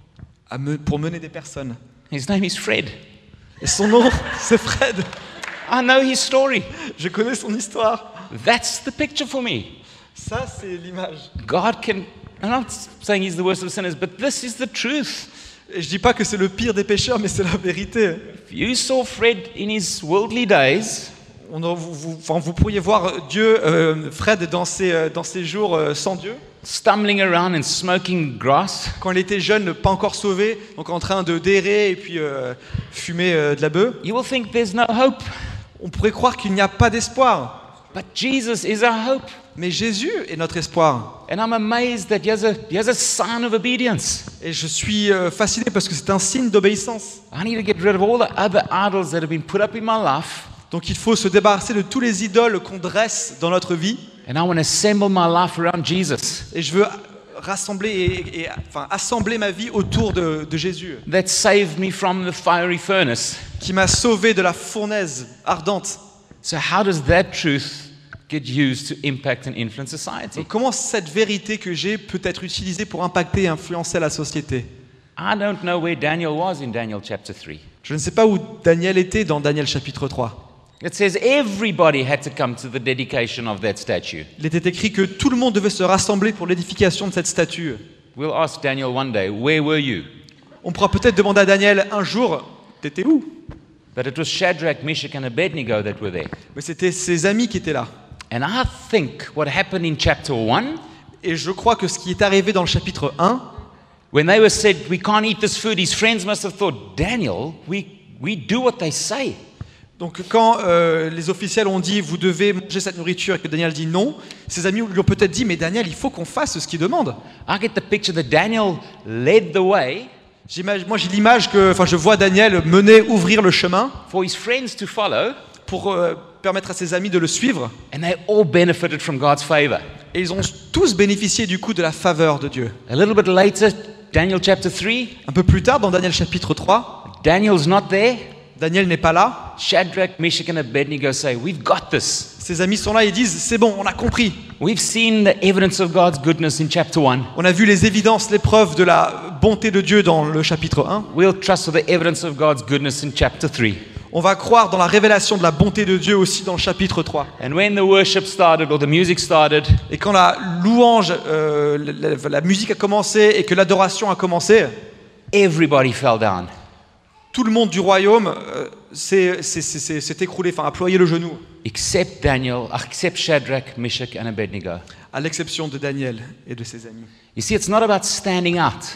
à me- pour mener des personnes. His name is Fred. Et son nom, c'est Fred. I know his story. Je connais son histoire. That's the picture for me. Ça, c'est l'image. God can, I'm not saying he's the worst of sinners, but this is the truth. Et je dis pas que c'est le pire des pécheurs, mais c'est la vérité. If you saw Fred in his worldly days, On a- vous, vous- enfin, vous pourriez voir Dieu, euh, Fred, dans ses, euh, dans ses jours euh, sans Dieu. stumbling around and smoking grass, Quand il était jeune, pas encore sauvé, donc en train de d'errer et puis euh, fumer euh, de la bœuf. you will think there's no hope. On pourrait croire qu'il n'y a pas d'espoir. But Jesus is our hope. Mais Jésus est notre espoir. And I'm amazed that he has a, he has a sign of obedience. Et je suis euh, fasciné parce que c'est un signe d'obéissance. I need to get rid of all the other idols that have been put up in my life. Donc il faut se débarrasser de tous les idoles qu'on dresse dans notre vie. And I want to assemble my life around Jesus. Et je veux rassembler et, et- enfin, assembler ma vie autour de, de Jésus, That saved me from the fiery furnace. qui m'a sauvé de la fournaise ardente. So how does that truth get used to impact and influence society? Donc comment cette vérité que j'ai peut être utilisée pour impacter et influencer la société? I don't know where Daniel was in Daniel chapter three. Je ne sais pas où Daniel était dans Daniel chapitre trois. It says everybody had to come to the dedication of that statue. Il était écrit que tout le monde devait se rassembler pour l'édification de cette statue. We'll ask Daniel one day, where were you? On pourra peut-être demander à Daniel un jour, t'étais où? But it was Shadrach, Meshach, and Abednego that were there. Mais c'était ses amis qui étaient là. And I think what happened in chapter one, Et je crois que ce qui est arrivé dans le chapitre un, when they were said, we can't eat this food, his friends must have thought, Daniel, we, we do what they say. donc quand euh, les officiels ont dit vous devez manger cette nourriture et que Daniel dit non, ses amis lui ont peut-être dit mais Daniel, il faut qu'on fasse ce qu'il demande. I get the picture that Daniel led the way J'imagine- moi j'ai l'image que, enfin je vois Daniel mener, ouvrir le chemin for his friends to follow, pour euh, permettre à ses amis de le suivre. and they all benefited from God's favor. Et ils ont tous bénéficié du coup de la faveur de Dieu. A little bit later, Daniel chapter three, Un peu plus tard, dans Daniel chapitre trois, Daniel's not there. Daniel n'est pas là. Shadrach, Meshach, and Abednego say, we've got this. Ses amis sont là et disent c'est bon, on a compris. We've seen the evidence of God's goodness in chapter one. On a vu les évidences, les preuves de la bonté de Dieu dans le chapitre un. We'll trust for the evidence of God's goodness in chapter three. On va croire dans la révélation de la bonté de Dieu aussi dans le chapitre trois. And when the worship started or the music started, Et quand la louange, euh, la, la- la musique a commencé et que l'adoration a commencé, everybody fell down. tout le monde du royaume euh, s'est s'est- s'est- s'est écroulé, enfin a ployé le genou, Except Daniel, except Shadrach, Meshach, and Abednego. à l'exception de Daniel et de ses amis. You see, it's not about standing out.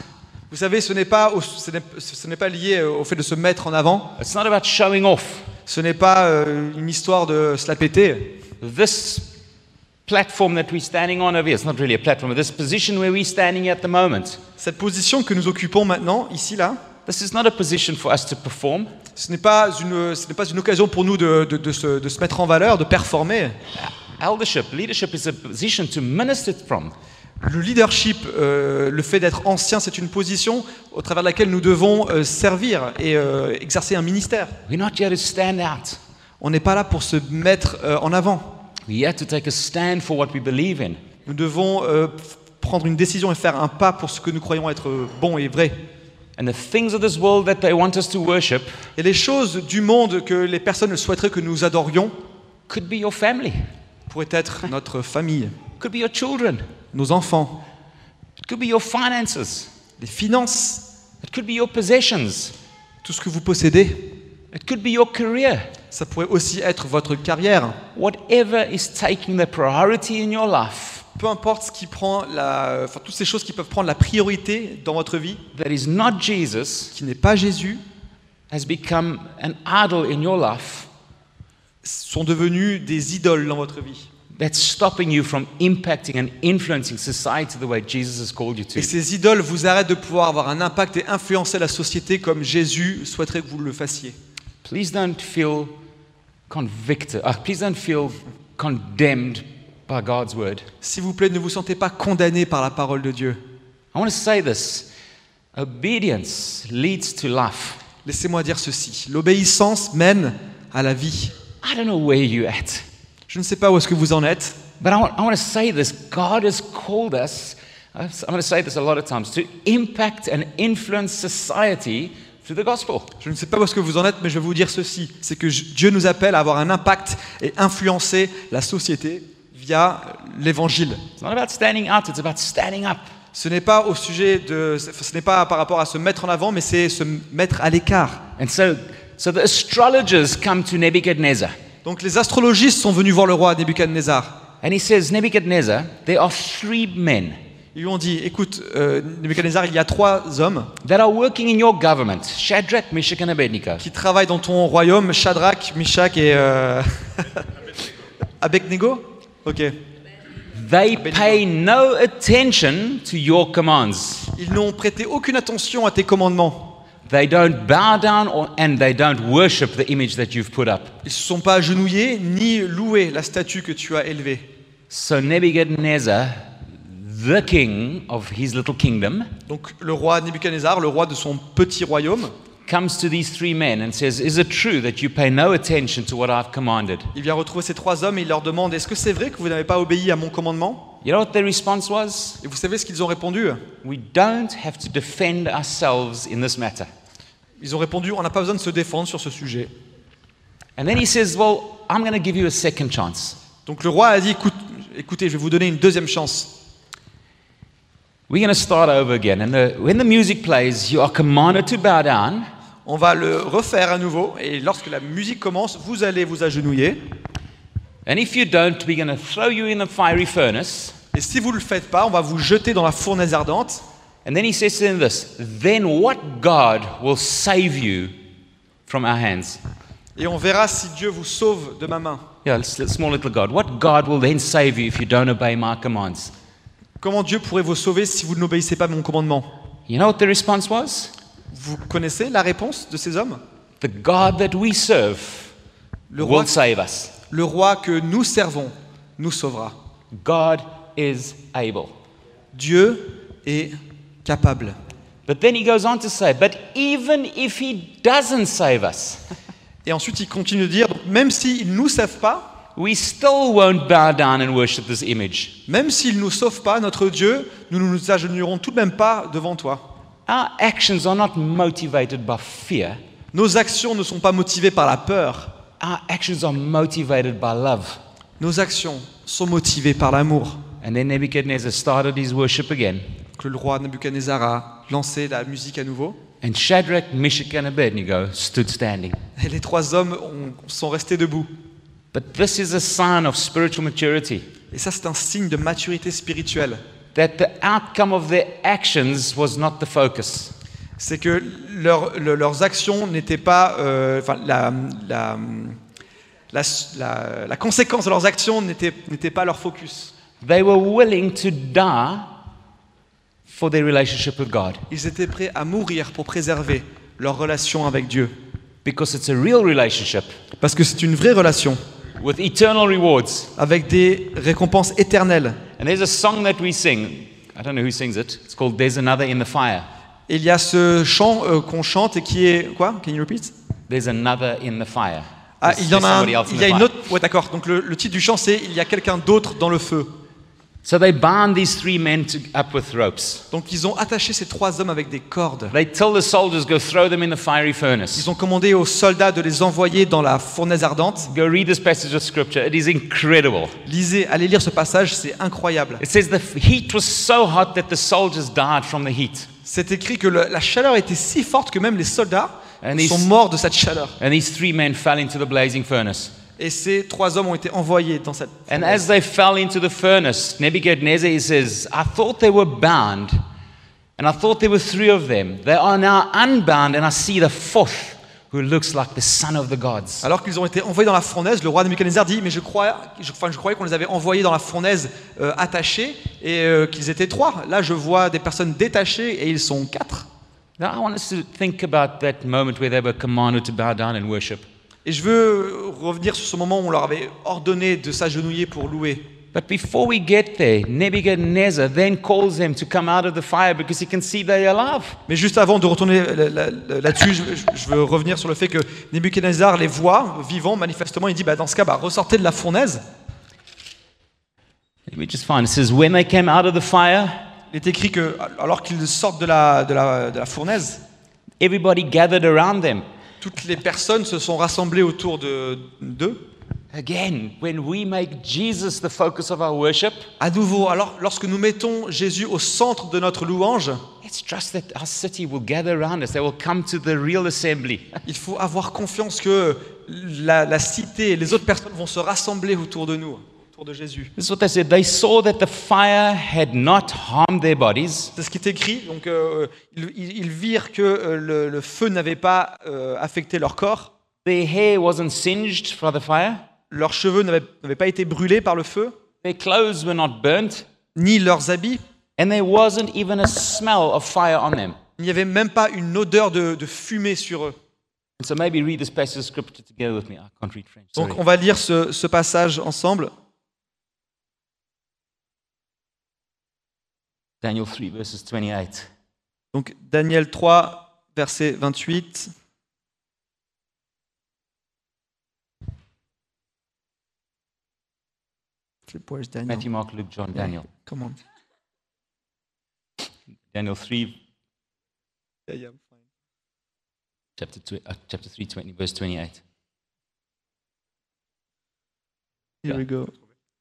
Vous savez, ce n'est pas, au- ce n'est, ce n'est pas lié au fait de se mettre en avant. It's not about showing off. Ce n'est pas euh, une histoire de se la péter. This platform that we're standing on over here, it's not really a platform, but this position where we're standing at the moment, Cette position que nous occupons maintenant, ici, là, this is not a position for us to perform. ce n'est pas une, ce n'est pas une occasion pour nous de, de- de se, de se mettre en valeur, de performer. Eldership, leadership is a position to minister from. Le leadership, euh, le fait d'être ancien, c'est une position au travers de laquelle nous devons euh, servir et euh, exercer un ministère. We're not here to stand out. On n'est pas là pour se mettre euh, en avant. We're here to take a stand for what we believe in. Nous devons euh, f- prendre une décision et faire un pas pour ce que nous croyons être euh, bon et vrai. And the things of this world that they want us to worship Et les choses du monde que les personnes souhaiteraient que nous adorions could be your family, pourraient être notre famille, could be your children, nos enfants, it could be your finances, les finances, it could be your possessions, tout ce que vous possédez. it could be your career. Ça pourrait aussi être votre carrière. Whatever is taking the priority in your life Peu importe ce qui prend la, enfin, toutes ces choses qui peuvent prendre la priorité dans votre vie, that is not Jesus qui n'est pas Jésus, has become an idol in your life sont devenus des idoles dans votre vie. that's stopping you from impacting and influencing society the way Jesus has called you to. Et ces idoles vous arrêtent de pouvoir avoir un impact et influencer la société comme Jésus souhaiterait que vous le fassiez. Please don't feel convicted. Uh, please don't feel condemned by God's word. S'il vous plaît, ne vous sentez pas condamné par la parole de Dieu. I want to say this. Obedience leads to life. Laissez-moi dire ceci. L'obéissance mène à la vie. I don't know where you're at, Je ne sais pas où est-ce que vous en êtes, but I want, I want to say this. God has called us, I'm going to say this a lot of times, to impact and influence society through the gospel. je ne sais pas où est-ce que vous en êtes, mais je vais vous dire ceci. C'est que je- Dieu nous appelle à avoir un impact et influencer la société via l'évangile. It's not about standing out, it's about standing up. Ce n'est pas au sujet de, ce n'est pas par rapport à se mettre en avant, mais c'est se mettre à l'écart. And so, so the astrologers come to Nebuchadnezzar. Donc les astrologistes sont venus voir le roi Nebuchadnezzar. And he says, Nebuchadnezzar, there are three men Ils lui ont dit, écoute, euh, Nebuchadnezzar, il y a trois hommes that are working in your government, Shadrach, Meshach, and Abednego. qui travaillent dans ton royaume, Shadrach, Meshach et euh... Abednego. Ok. They pay no attention to your commands. Ils n'ont prêté aucune attention à tes commandements. They don't bow down or, and they don't worship the image that you've put up. Ils ne se sont pas agenouillés ni loué la statue que tu as élevée. So Nebuchadnezzar, the king of his little kingdom, Donc le roi Nebuchadnezzar, le roi de son petit royaume, comes to these three men and says, is it true that you pay no attention to what I've commanded? il vient retrouver ces trois hommes et il leur demande, est-ce que c'est vrai que vous n'avez pas obéi à mon commandement? You know what their response was? Et vous savez ce qu'ils ont répondu? We don't have to defend ourselves in this matter. Ils ont répondu, on n'a pas besoin de se défendre sur ce sujet. And then he says, well, I'm going to give you a second chance. Donc le roi a dit, écoute, écoutez, je vais vous donner une deuxième chance. We're going to start over again. And the, when the music plays, you are commanded to bow down. On va le refaire à nouveau et lorsque la musique commence, vous allez vous agenouiller. And if you don't, we're going to throw you in the fiery furnace. Et si vous ne le faites pas, on va vous jeter dans la fournaise ardente. And then he says to them this, then what God will save you from our hands? Et on verra si Dieu vous sauve de ma main. Yeah, it's a small little God. What God will then save you if you don't obey my commands? Comment Dieu pourrait vous sauver si vous n'obéissez pas à mon commandement? You know what the response was? Vous connaissez la réponse de ces hommes? The God that we serve Le roi, will save us. le roi que nous servons nous sauvera. God is able. Dieu est capable. But then he goes on to say, but even if he doesn't save us, Et ensuite, il continue de dire, donc, même s'ils ne nous sauvent pas, we still won't bow down and worship this image. même s'il ne nous sauve pas, notre Dieu, nous ne nous agenouillerons tout de même pas devant toi. Our actions are not motivated by fear. Nos actions ne sont pas motivées par la peur. Our actions are motivated by love. Nos actions sont motivées par l'amour. And then Nebuchadnezzar started his worship again. Que le roi Nebuchadnezzar a lancé la musique à nouveau. And Shadrach, Meshach, and Abednego stood standing. Et les trois hommes ont- sont restés debout. But this is a sign of spiritual maturity. Et ça, c'est un signe de maturité spirituelle. that the outcome of their actions was not the focus. c'est que leur- le- leurs actions n'étaient pas, euh, enfin la, la, la, la- la conséquence de leurs actions n'était n'était pas leur focus. They were willing to die for their relationship with God Ils étaient prêts à mourir pour préserver leur relation avec Dieu, because it's a real relationship parce que c'est une vraie relation with eternal rewards. avec des récompenses éternelles. And there's a song that we sing. I don't know who sings it. It's called There's Another in the Fire. Et il y a ce chant euh, qu'on chante et qui est quoi? Can you repeat? There's another in the fire. Ah, There's- il y en there's a un, somebody else in il y a the une fire. autre. Ouais, d'accord. Donc le, le titre du chant c'est il y a quelqu'un d'autre dans le feu. So they bound these three men to, up with ropes. Donc ils ont attaché ces trois hommes avec des cordes. They tell the soldiers, go throw them in the fiery furnace. Ils ont commandé aux soldats de les envoyer dans la fournaise ardente. Go read this passage of scripture. It is incredible. Lisez, allez lire ce passage, c'est incroyable. It says the heat was so hot that the soldiers died from the heat. C'est écrit que le- la chaleur était si forte que même les soldats And sont these- morts de cette chaleur. And these three men fell into the blazing furnace. Et ces trois hommes ont été envoyés dans cette And fournaise. as they fell into the furnace, Nebuchadnezzar, he says, I thought they were bound, and I thought there were three of them. They are now unbound, and I see the fourth, who looks like the son of the gods. Alors qu'ils ont été envoyés dans la fournaise, le roi Nebuchadnezzar dit mais je crois, je, enfin, je croyais qu'on les avait envoyés dans la fournaise euh, attachés et euh, qu'ils étaient trois. Là je vois des personnes détachées et ils sont quatre. Now, I want us to think about that moment where they were commanded to bow down and worship. Et je veux revenir sur ce moment où on leur avait ordonné de s'agenouiller pour louer. But before we get there, Nebuchadnezzar then calls them to come out of the fire because he can see they are alive. Mais juste avant de retourner là- là- là-dessus, je, je veux revenir sur le fait que Nebuchadnezzar les voit vivants, manifestement, il dit bah, dans ce cas, bah, ressortez de la fournaise. Let me just find. It says, when they came out of the fire, Il est écrit que alors qu'ils sortent de la, de la, de la fournaise, everybody gathered around them. toutes les personnes se sont rassemblées autour de- d'eux. Again, when we make Jesus the focus of our worship, À nouveau, alors lorsque nous mettons Jésus au centre de notre louange, let's trust that our city will gather around us. They will come to the real assembly. il faut avoir confiance que la, la cité et les autres personnes vont se rassembler autour de nous, autour de Jésus. This is what they said. They saw that the fire had not harmed their bodies, C'est ce qui est écrit. Donc, euh, ils, ils- ils virent que euh, le, le feu n'avait pas euh, affecté leur corps, their hair wasn't singed by the fire, leurs cheveux n'avaient n'avaient pas été brûlés par le feu, their clothes were not burnt, ni leurs habits. and there wasn't even a smell of fire on them. Il n'y avait même pas une odeur de, de fumée sur eux. And so maybe read this passage of scripture together with me. I can't read French. Sorry. Donc on va lire ce, ce passage ensemble. Daniel three, verses twenty-eight. Donc Daniel trois, verset vingt-huit. Where's Daniel? Matthew, Mark, Luke, John, Daniel. Come on. Daniel three, Yeah, yeah. chapter, tw- uh, chapter three, twenty, verse twenty-eight. Here we go.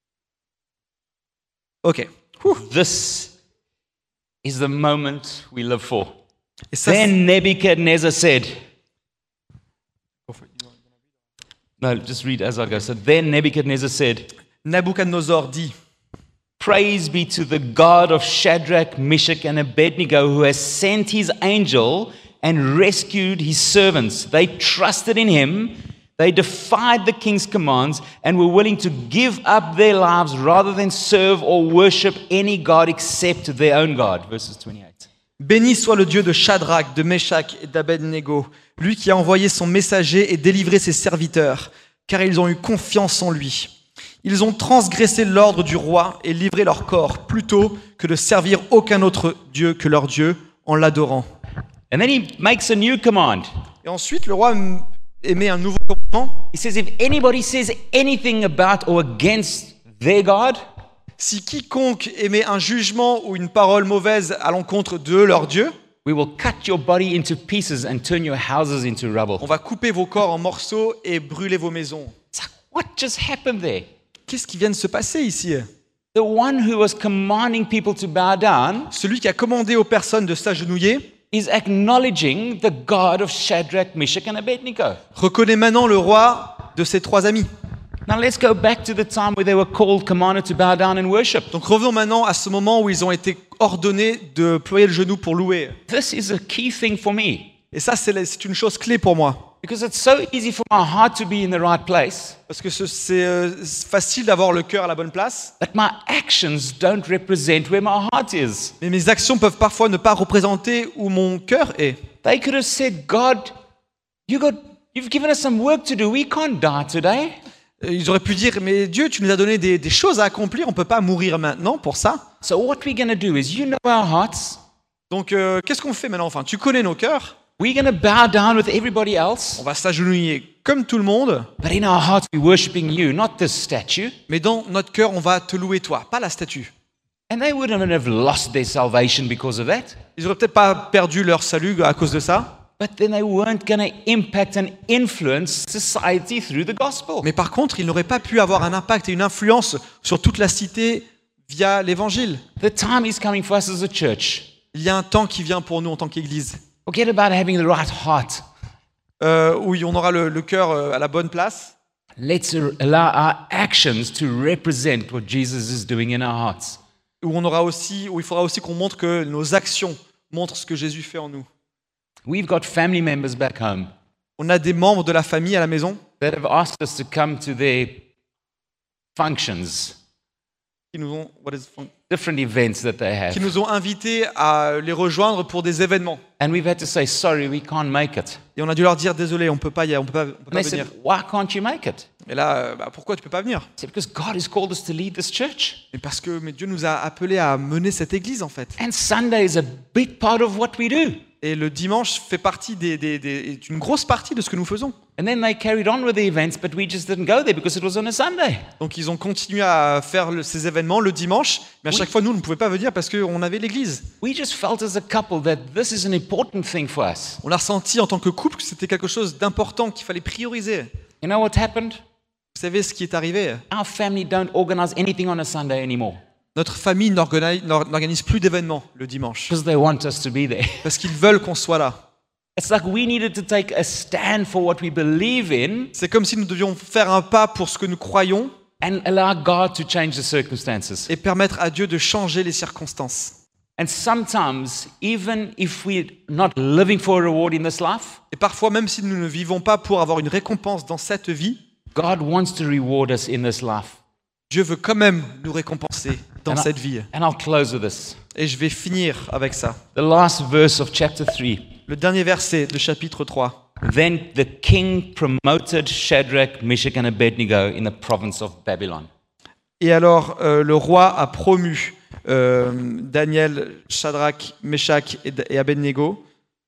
Ok. This is the moment we live for. Et ça, c'est- Then Nebuchadnezzar said, no, just read as I go. So then Nebuchadnezzar said, Nabuchodonosor dit, praise be to the God of Shadrach, Meshach, and Abednego, who has sent his angel and rescued his servants. They trusted in him, they defied the king's commands, and were willing to give up their lives rather than serve or worship any God except their own God. Verses twenty-eight. béni soit le Dieu de Shadrach, de Meshach et d'Abednego, lui qui a envoyé son messager et délivré ses serviteurs, car ils ont eu confiance en lui. Ils ont transgressé l'ordre du roi et livré leur corps plutôt que de servir aucun autre Dieu que leur Dieu en l'adorant. And then he makes a new command. Et ensuite, le roi m- émet un nouveau commandement. He says, if anybody says anything about or against their God, Si quiconque émet un jugement ou une parole mauvaise à l'encontre de leur Dieu, we will cut your body into pieces and turn your houses into rubble. on va couper vos corps en morceaux et brûler vos maisons. It's like, what just happened there? Qu'est-ce qui vient de se passer ici? The one who was commanding people to bow down Celui qui a commandé aux personnes de s'agenouiller is acknowledging the God of Shadrach, Meshach, and Abednego. reconnaît maintenant le roi de ses trois amis. Now let's go back to the time where they were called, commanded to bow down and worship. Donc revenons maintenant à ce moment où ils ont été ordonnés de ployer le genou pour louer. This is a key thing for me Et ça, c'est la- c'est une chose clé pour moi. because it's so easy for my heart to be in the right place, Parce que ce- c'est euh, c'est facile d'avoir le cœur à la bonne place, but my actions don't represent where my heart is. mais mes actions peuvent parfois ne pas représenter où mon cœur est. They could have said, God, you got, you've given us some work to do. We can't die today. Euh, Ils auraient pu dire, mais Dieu, tu nous as donné des, des choses à accomplir, on ne peut pas mourir maintenant pour ça. So what we're going to do is, you know our hearts. Donc euh, qu'est-ce qu'on fait maintenant? Enfin, tu connais nos cœurs, We're going to bow down with everybody else, on va s'agenouiller comme tout le monde, but in our hearts we're worshiping you, not this statue. mais dans notre cœur, on va te louer toi, pas la statue. And they wouldn't have lost their salvation because of that, Ils n'auraient peut-être pas perdu leur salut à cause de ça, but then they weren't going to impact and influence society through the gospel. mais par contre, ils n'auraient pas pu avoir un impact et une influence sur toute la cité via l'évangile. The time is coming for us as a church. Il y a un temps qui vient pour nous en tant qu'Église, Forget about having the right heart. euh, où on aura le, le cœur euh, à la bonne place, Let's allow our actions to represent what Jesus is doing in our hearts. où on aura aussi, où il faudra aussi qu'on montre que nos actions montrent ce que Jésus fait en nous. We've got family members back home On a des membres de la famille à la maison that have asked us to come to their functions, qui nous ont, what is- different events that they have. qui nous ont invités à les rejoindre pour des événements. And we've had to say, sorry, we can't make it. Et on a dû leur dire, désolé, on peut pas y on peut pas, on peut And pas they venir. said, why can't you make it? Et là, euh, bah, pourquoi tu peux pas venir? I said, because God has called us to lead this church. Et parce que mais Dieu nous a appelés à mener cette église en fait. And Sunday is a big part of what we do. Et le dimanche fait partie des, des, des- est une grosse partie de ce que nous faisons. And then they carried on with the events, but we just didn't go there because it was on a Sunday. Donc ils ont continué à faire le- ces événements le dimanche, mais à chaque fois nous, on ne pouvait pas venir parce qu'on avait l'église. We just felt as a couple that this is an important thing for us. On a ressenti en tant que couple que c'était quelque chose d'important qu'il fallait prioriser. You know what happened? Vous savez ce qui est arrivé? Our family don't organize anything on a Sunday anymore Notre famille n'organi- n'or- n'organise plus d'événements le dimanche because they want us to be there. parce qu'ils veulent qu'on soit là. It's like we needed to take a stand for what we believe in C'est comme si nous devions faire un pas pour ce que nous croyons and allow God to change the circumstances. et permettre à Dieu de changer les circonstances. And sometimes, even if we're not living for a reward in this life, Et parfois, même si nous ne vivons pas pour avoir une récompense dans cette vie, God wants to reward us in this life. Dieu veut quand même nous récompenser dans And I- cette vie. And I'll close with this. Et je vais finir avec ça. The last verse of chapter three. Le dernier verset de chapitre trois. Then the king promoted Shadrach, Meshach, and Abednego in the province of Babylon. Et alors, euh, le roi a promu euh, Daniel, Shadrach, Meshach et, et Abednego.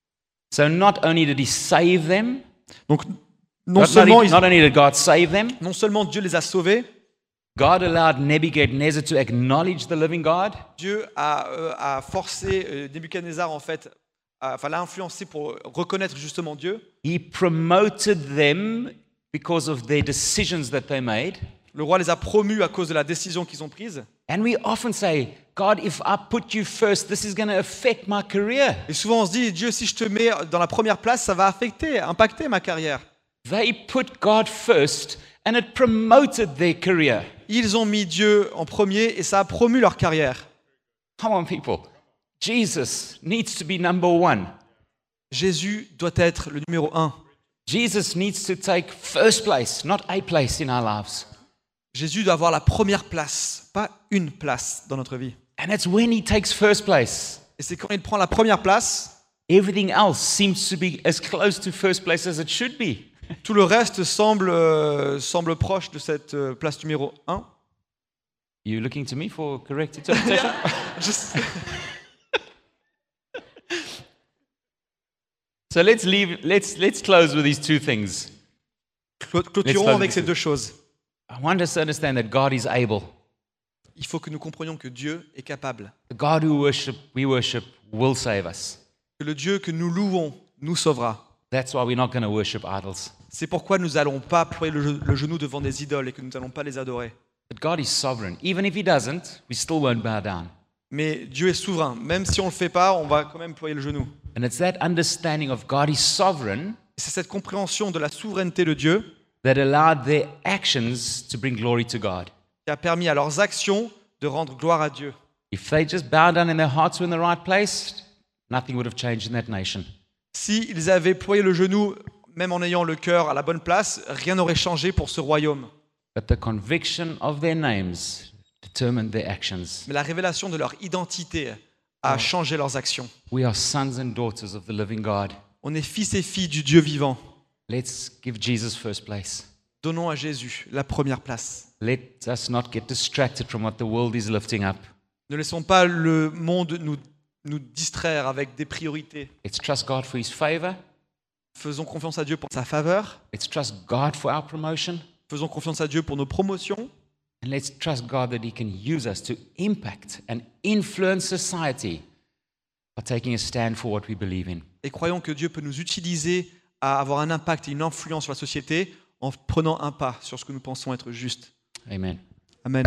So not only did he save them, Donc, non not, seulement, not, ils- not only did God save them, non seulement Dieu les a sauvés, God allowed Nebuchadnezzar to acknowledge the living God. Dieu a, euh, a forcé euh, Nebuchadnezzar, en fait, à- enfin l'a influencé pour reconnaître justement Dieu. He promoted them because of their decisions that they made. Le roi les a promus à cause de la décision qu'ils ont prise. And we often say, God, if I put you first, this is going to affect my career. Et souvent on se dit, Dieu, si je te mets dans la première place, ça va affecter, impacter ma carrière. They put God first and it promoted their career. Ils ont mis Dieu en premier et ça a promu leur carrière. Come on, people. Jesus needs to be number one. Jésus doit être le numéro un. Jesus needs to take first place, not a place in our lives. Jésus doit avoir la première place, pas une place dans notre vie. And it's when he takes first place, Et c'est quand il prend la première place, everything else seems to be as close to first place as it should be. tout le reste semble, euh, semble proche de cette euh, place numéro un. You looking to me for correct interpretation? Juste- So let's leave. Let's let's close with these two things. Clo- Clôturons Let's avec close ces with deux choses. I want us to understand that God is able. Il faut que nous comprenions que Dieu est capable. The God who worship we worship will save us. Que le Dieu que nous louons nous sauvera. That's why we're not going to worship idols. C'est pourquoi nous n'allons pas ployer le, le genou devant des idoles et que nous n'allons pas les adorer. But God is sovereign. Even if He doesn't, we still won't bow down. Mais Dieu est souverain. Même si on ne le fait pas, on va quand même ployer le genou. And it's that understanding of God is sovereign C'est cette compréhension de la souveraineté de Dieu that allowed their actions to bring glory to God. qui a permis à leurs actions de rendre gloire à Dieu. If they just bowed down and their hearts were in the right place, nothing would have changed in that nation. S'ils avaient ployé le genou, même en ayant le cœur à la bonne place, rien n'aurait changé pour ce royaume. But the conviction of their names determined their actions. Mais la révélation de leur identité a changé leurs actions. We are sons and daughters of the living God. On est fils et filles du Dieu vivant. Let's give Jesus first place. Donnons à Jésus la première place. Let us not get distracted from what the world is lifting up. Ne laissons pas le monde nous, nous distraire avec des priorités. Let's trust God for His favor. Faisons confiance à Dieu pour sa faveur. Let's trust God for our promotion. Faisons confiance à Dieu pour nos promotions. And let's trust God that He can use us to impact and influence society by taking a stand for what we believe in. Et croyons que Dieu peut nous utiliser à avoir un impact et une influence sur la société en prenant un pas sur ce que nous pensons être juste. Amen. Amen.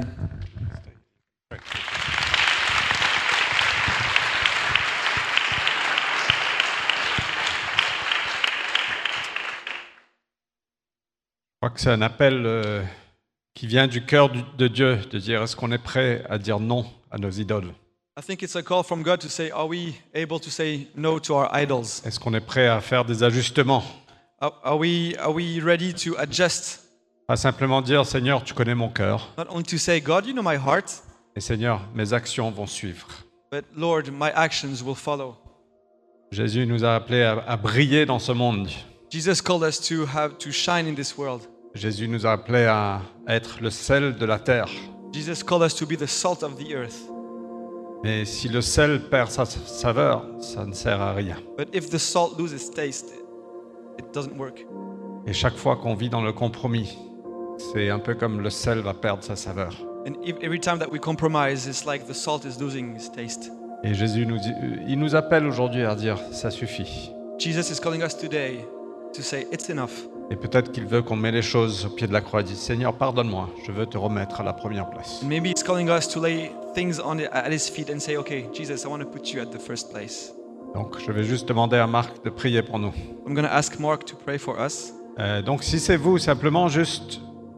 Je crois que c'est un appel euh, qui vient du cœur du- de Dieu, de dire est-ce qu'on est prêt à dire non à nos idoles? I think it's a call from God to say, are we able to say no to our idols? Est-ce qu'on est prêt à faire des ajustements? Are, are we, are we ready to adjust? Pas simplement dire Seigneur, tu connais mon cœur, Not only to say, God, you know my heart, et Seigneur, mes actions vont suivre. but Lord, my actions will follow. Jésus nous a appelés à, à briller dans ce monde. Jesus called us to have to shine in this world. Jésus nous a appelés à être le sel de la terre. Jesus called us to be the salt of the earth. Mais si le sel perd sa saveur, ça ne sert à rien. But if the salt loses taste, it doesn't work. Et chaque fois qu'on vit dans le compromis, c'est un peu comme le sel va perdre sa saveur. And if, every time that we compromise, it's like the salt is losing its taste. Et Jésus nous dit, il nous appelle aujourd'hui à dire ça suffit. Jesus is calling us today to say, it's enough. Et peut-être qu'il veut qu'on met les choses au pied de la croix et dise Seigneur, pardonne-moi, je veux te remettre à la première place. And maybe it's calling us to lay things on at his feet and say, okay, Jesus, I want to put you at the first place. Donc je vais juste demander à Marc de prier pour nous. I'm going to ask Mark to pray for us. Euh, donc si c'est vous, simplement juste,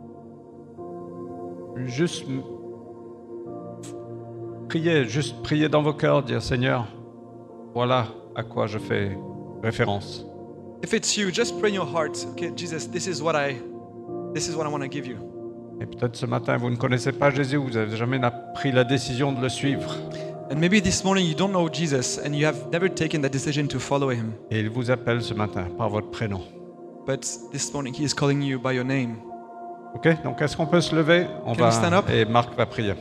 juste priez, juste priez dans vos cœurs, dire Seigneur, voilà à quoi je fais référence. If it's you, just pray in your heart, okay, Jesus, this is what I, this is what I want to give you. Et peut-être ce matin, vous ne connaissez pas Jésus, vous n'avez jamais na- pris la décision de le suivre. And maybe this morning you don't know Jesus and you have never taken that decision to follow him. Et il vous appelle ce matin par votre prénom. But this morning he is calling you by your name. Ok, donc est-ce qu'on peut se lever? On Can we stand up? Et Marc va prier.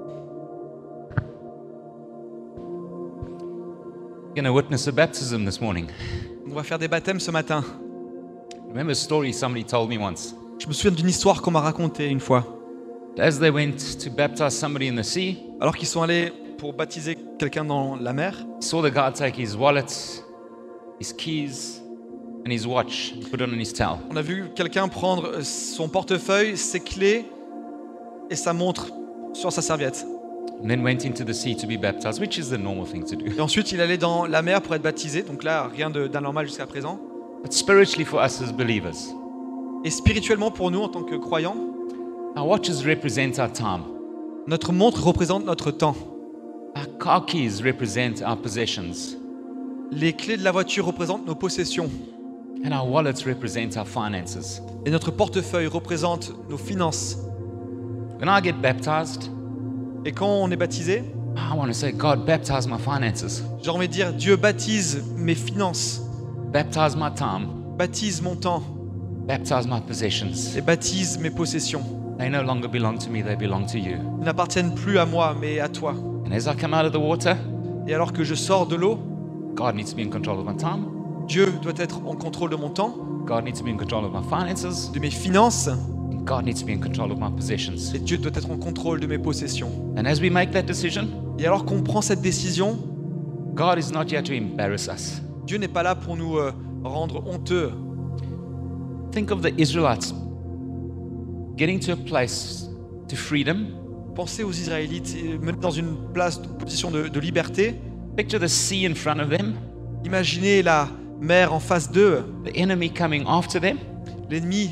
We're going to witness a baptism this morning. On va faire des baptêmes ce matin. Remember a story somebody told me once. Je me souviens d'une histoire qu'on m'a racontée une fois. As they went to baptize somebody in the sea, Alors qu'ils sont allés pour baptiser quelqu'un dans la mer, saw the guy take his wallet, his keys, and his watch and put it on his towel. on a vu quelqu'un prendre son portefeuille, ses clés et sa montre sur sa serviette. And then went into the sea to be baptized, which is the normal thing to do. Et ensuite, il allait dans la mer pour être baptisé. Donc là, rien de- d'anormal jusqu'à présent. But spiritually for us as believers, Et spirituellement, pour nous, en tant que croyants, our watches represent our time. notre montre représente notre temps. Our car keys represent our possessions. Les clés de la voiture représentent nos possessions. And our wallets represent our finances. Et notre portefeuille représente nos finances. When I get baptized, Et quand on est baptisé, I want to say, God, baptize my finances, j'ai envie de dire, Dieu baptise mes finances, baptize my time, baptise mon temps baptize my possessions. et baptise mes possessions. They no longer belong to me, they belong to you. Ils n'appartiennent plus à moi, mais à toi. And as I come out of the water, Et alors que je sors de l'eau, God needs to be in control of my time. Dieu doit être en contrôle de mon temps, God needs to be in control of my finances. de mes finances, And God needs to be in control of my possessions. et Dieu doit être en contrôle de mes possessions. And as we make that decision, Et alors qu'on prend cette décision, God is not here to embarrass us. Dieu n'est pas là pour nous euh, rendre honteux. Think of the Israelites getting to a place to freedom. Pensez aux Israélites euh, menés dans une place, une position de, de liberté. Picture the sea in front of them, Imaginez la mer en face d'eux, the enemy coming after them, l'ennemi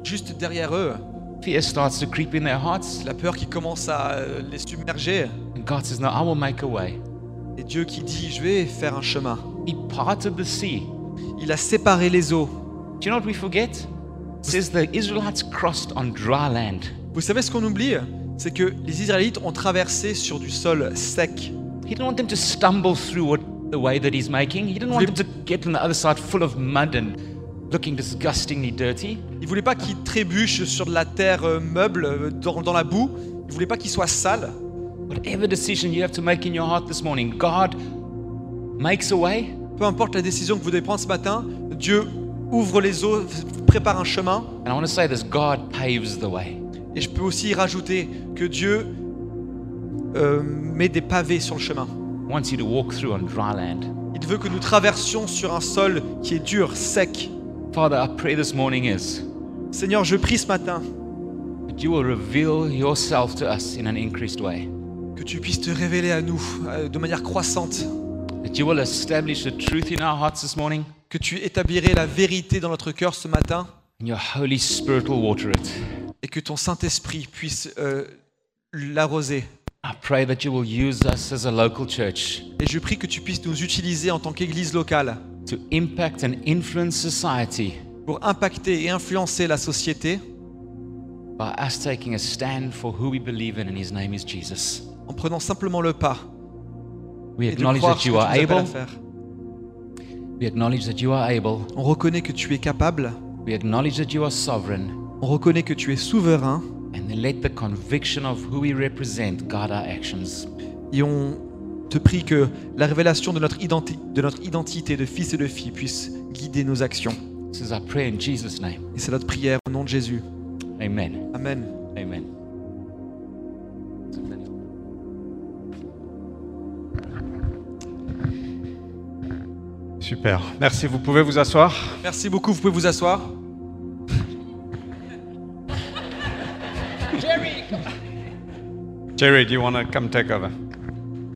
juste derrière eux, fear starts to creep in their hearts. la peur qui commence à euh, les submerger, And God says, no, I will make a way. et Dieu qui dit, je vais faire un chemin. He parted the sea. Il a séparé les eaux. Do you know what we forget? It says the Israelites crossed on dry land. Vous savez ce qu'on oublie? C'est que les Israélites ont traversé sur du sol sec. He didn't want them to stumble through what, the way that he's making. He didn't want them to get on the other side full of mud and looking disgustingly dirty. Il voulait pas qu'ils trébuchent sur de la terre euh, meuble, euh, dans, dans la boue. Il voulait pas qu'ils soient sales. Whatever decision you have to make in your heart this morning, God makes a way. Peu importe la décision que vous devez prendre ce matin, Dieu ouvre les eaux, prépare un chemin. And I want to say this, God paves the way. Et je peux aussi y rajouter que Dieu euh, met des pavés sur le chemin. He wants you to walk through on dry land. Il veut que nous traversions sur un sol qui est dur, sec. Father, our prayer this morning is Seigneur, je prie ce matin that you will reveal yourself to us in an increased way. que tu puisses te révéler à nous euh, de manière croissante, That you will establish the truth in our hearts this morning. que tu établirais la vérité dans notre cœur ce matin And your Holy Spirit will water it. et que ton Saint-Esprit puisse euh, l'arroser. I pray that you will use us as a local church Et je prie que tu puisses nous utiliser en tant qu'Église locale to impact and influence society pour impacter et influencer la société by us taking a stand for who we believe in, and his name is Jesus. en prenant simplement le pas We et de acknowledge croire that ce que you tu are nous appelles à able. faire. We acknowledge that you are able. On reconnaît que tu es capable, We acknowledge that you are sovereign. on reconnaît que tu es souverain And then let the conviction of who we represent guide our actions. et on te prie que la révélation de notre, identi- de notre identité de fils et de fille puisse guider nos actions. This is our prayer in Jesus' name. Et c'est notre prière au nom de Jésus. Amen. Amen. Amen. Super. Merci. Vous pouvez vous asseoir. Merci beaucoup, vous pouvez vous asseoir. Jerry, do you want to come take over?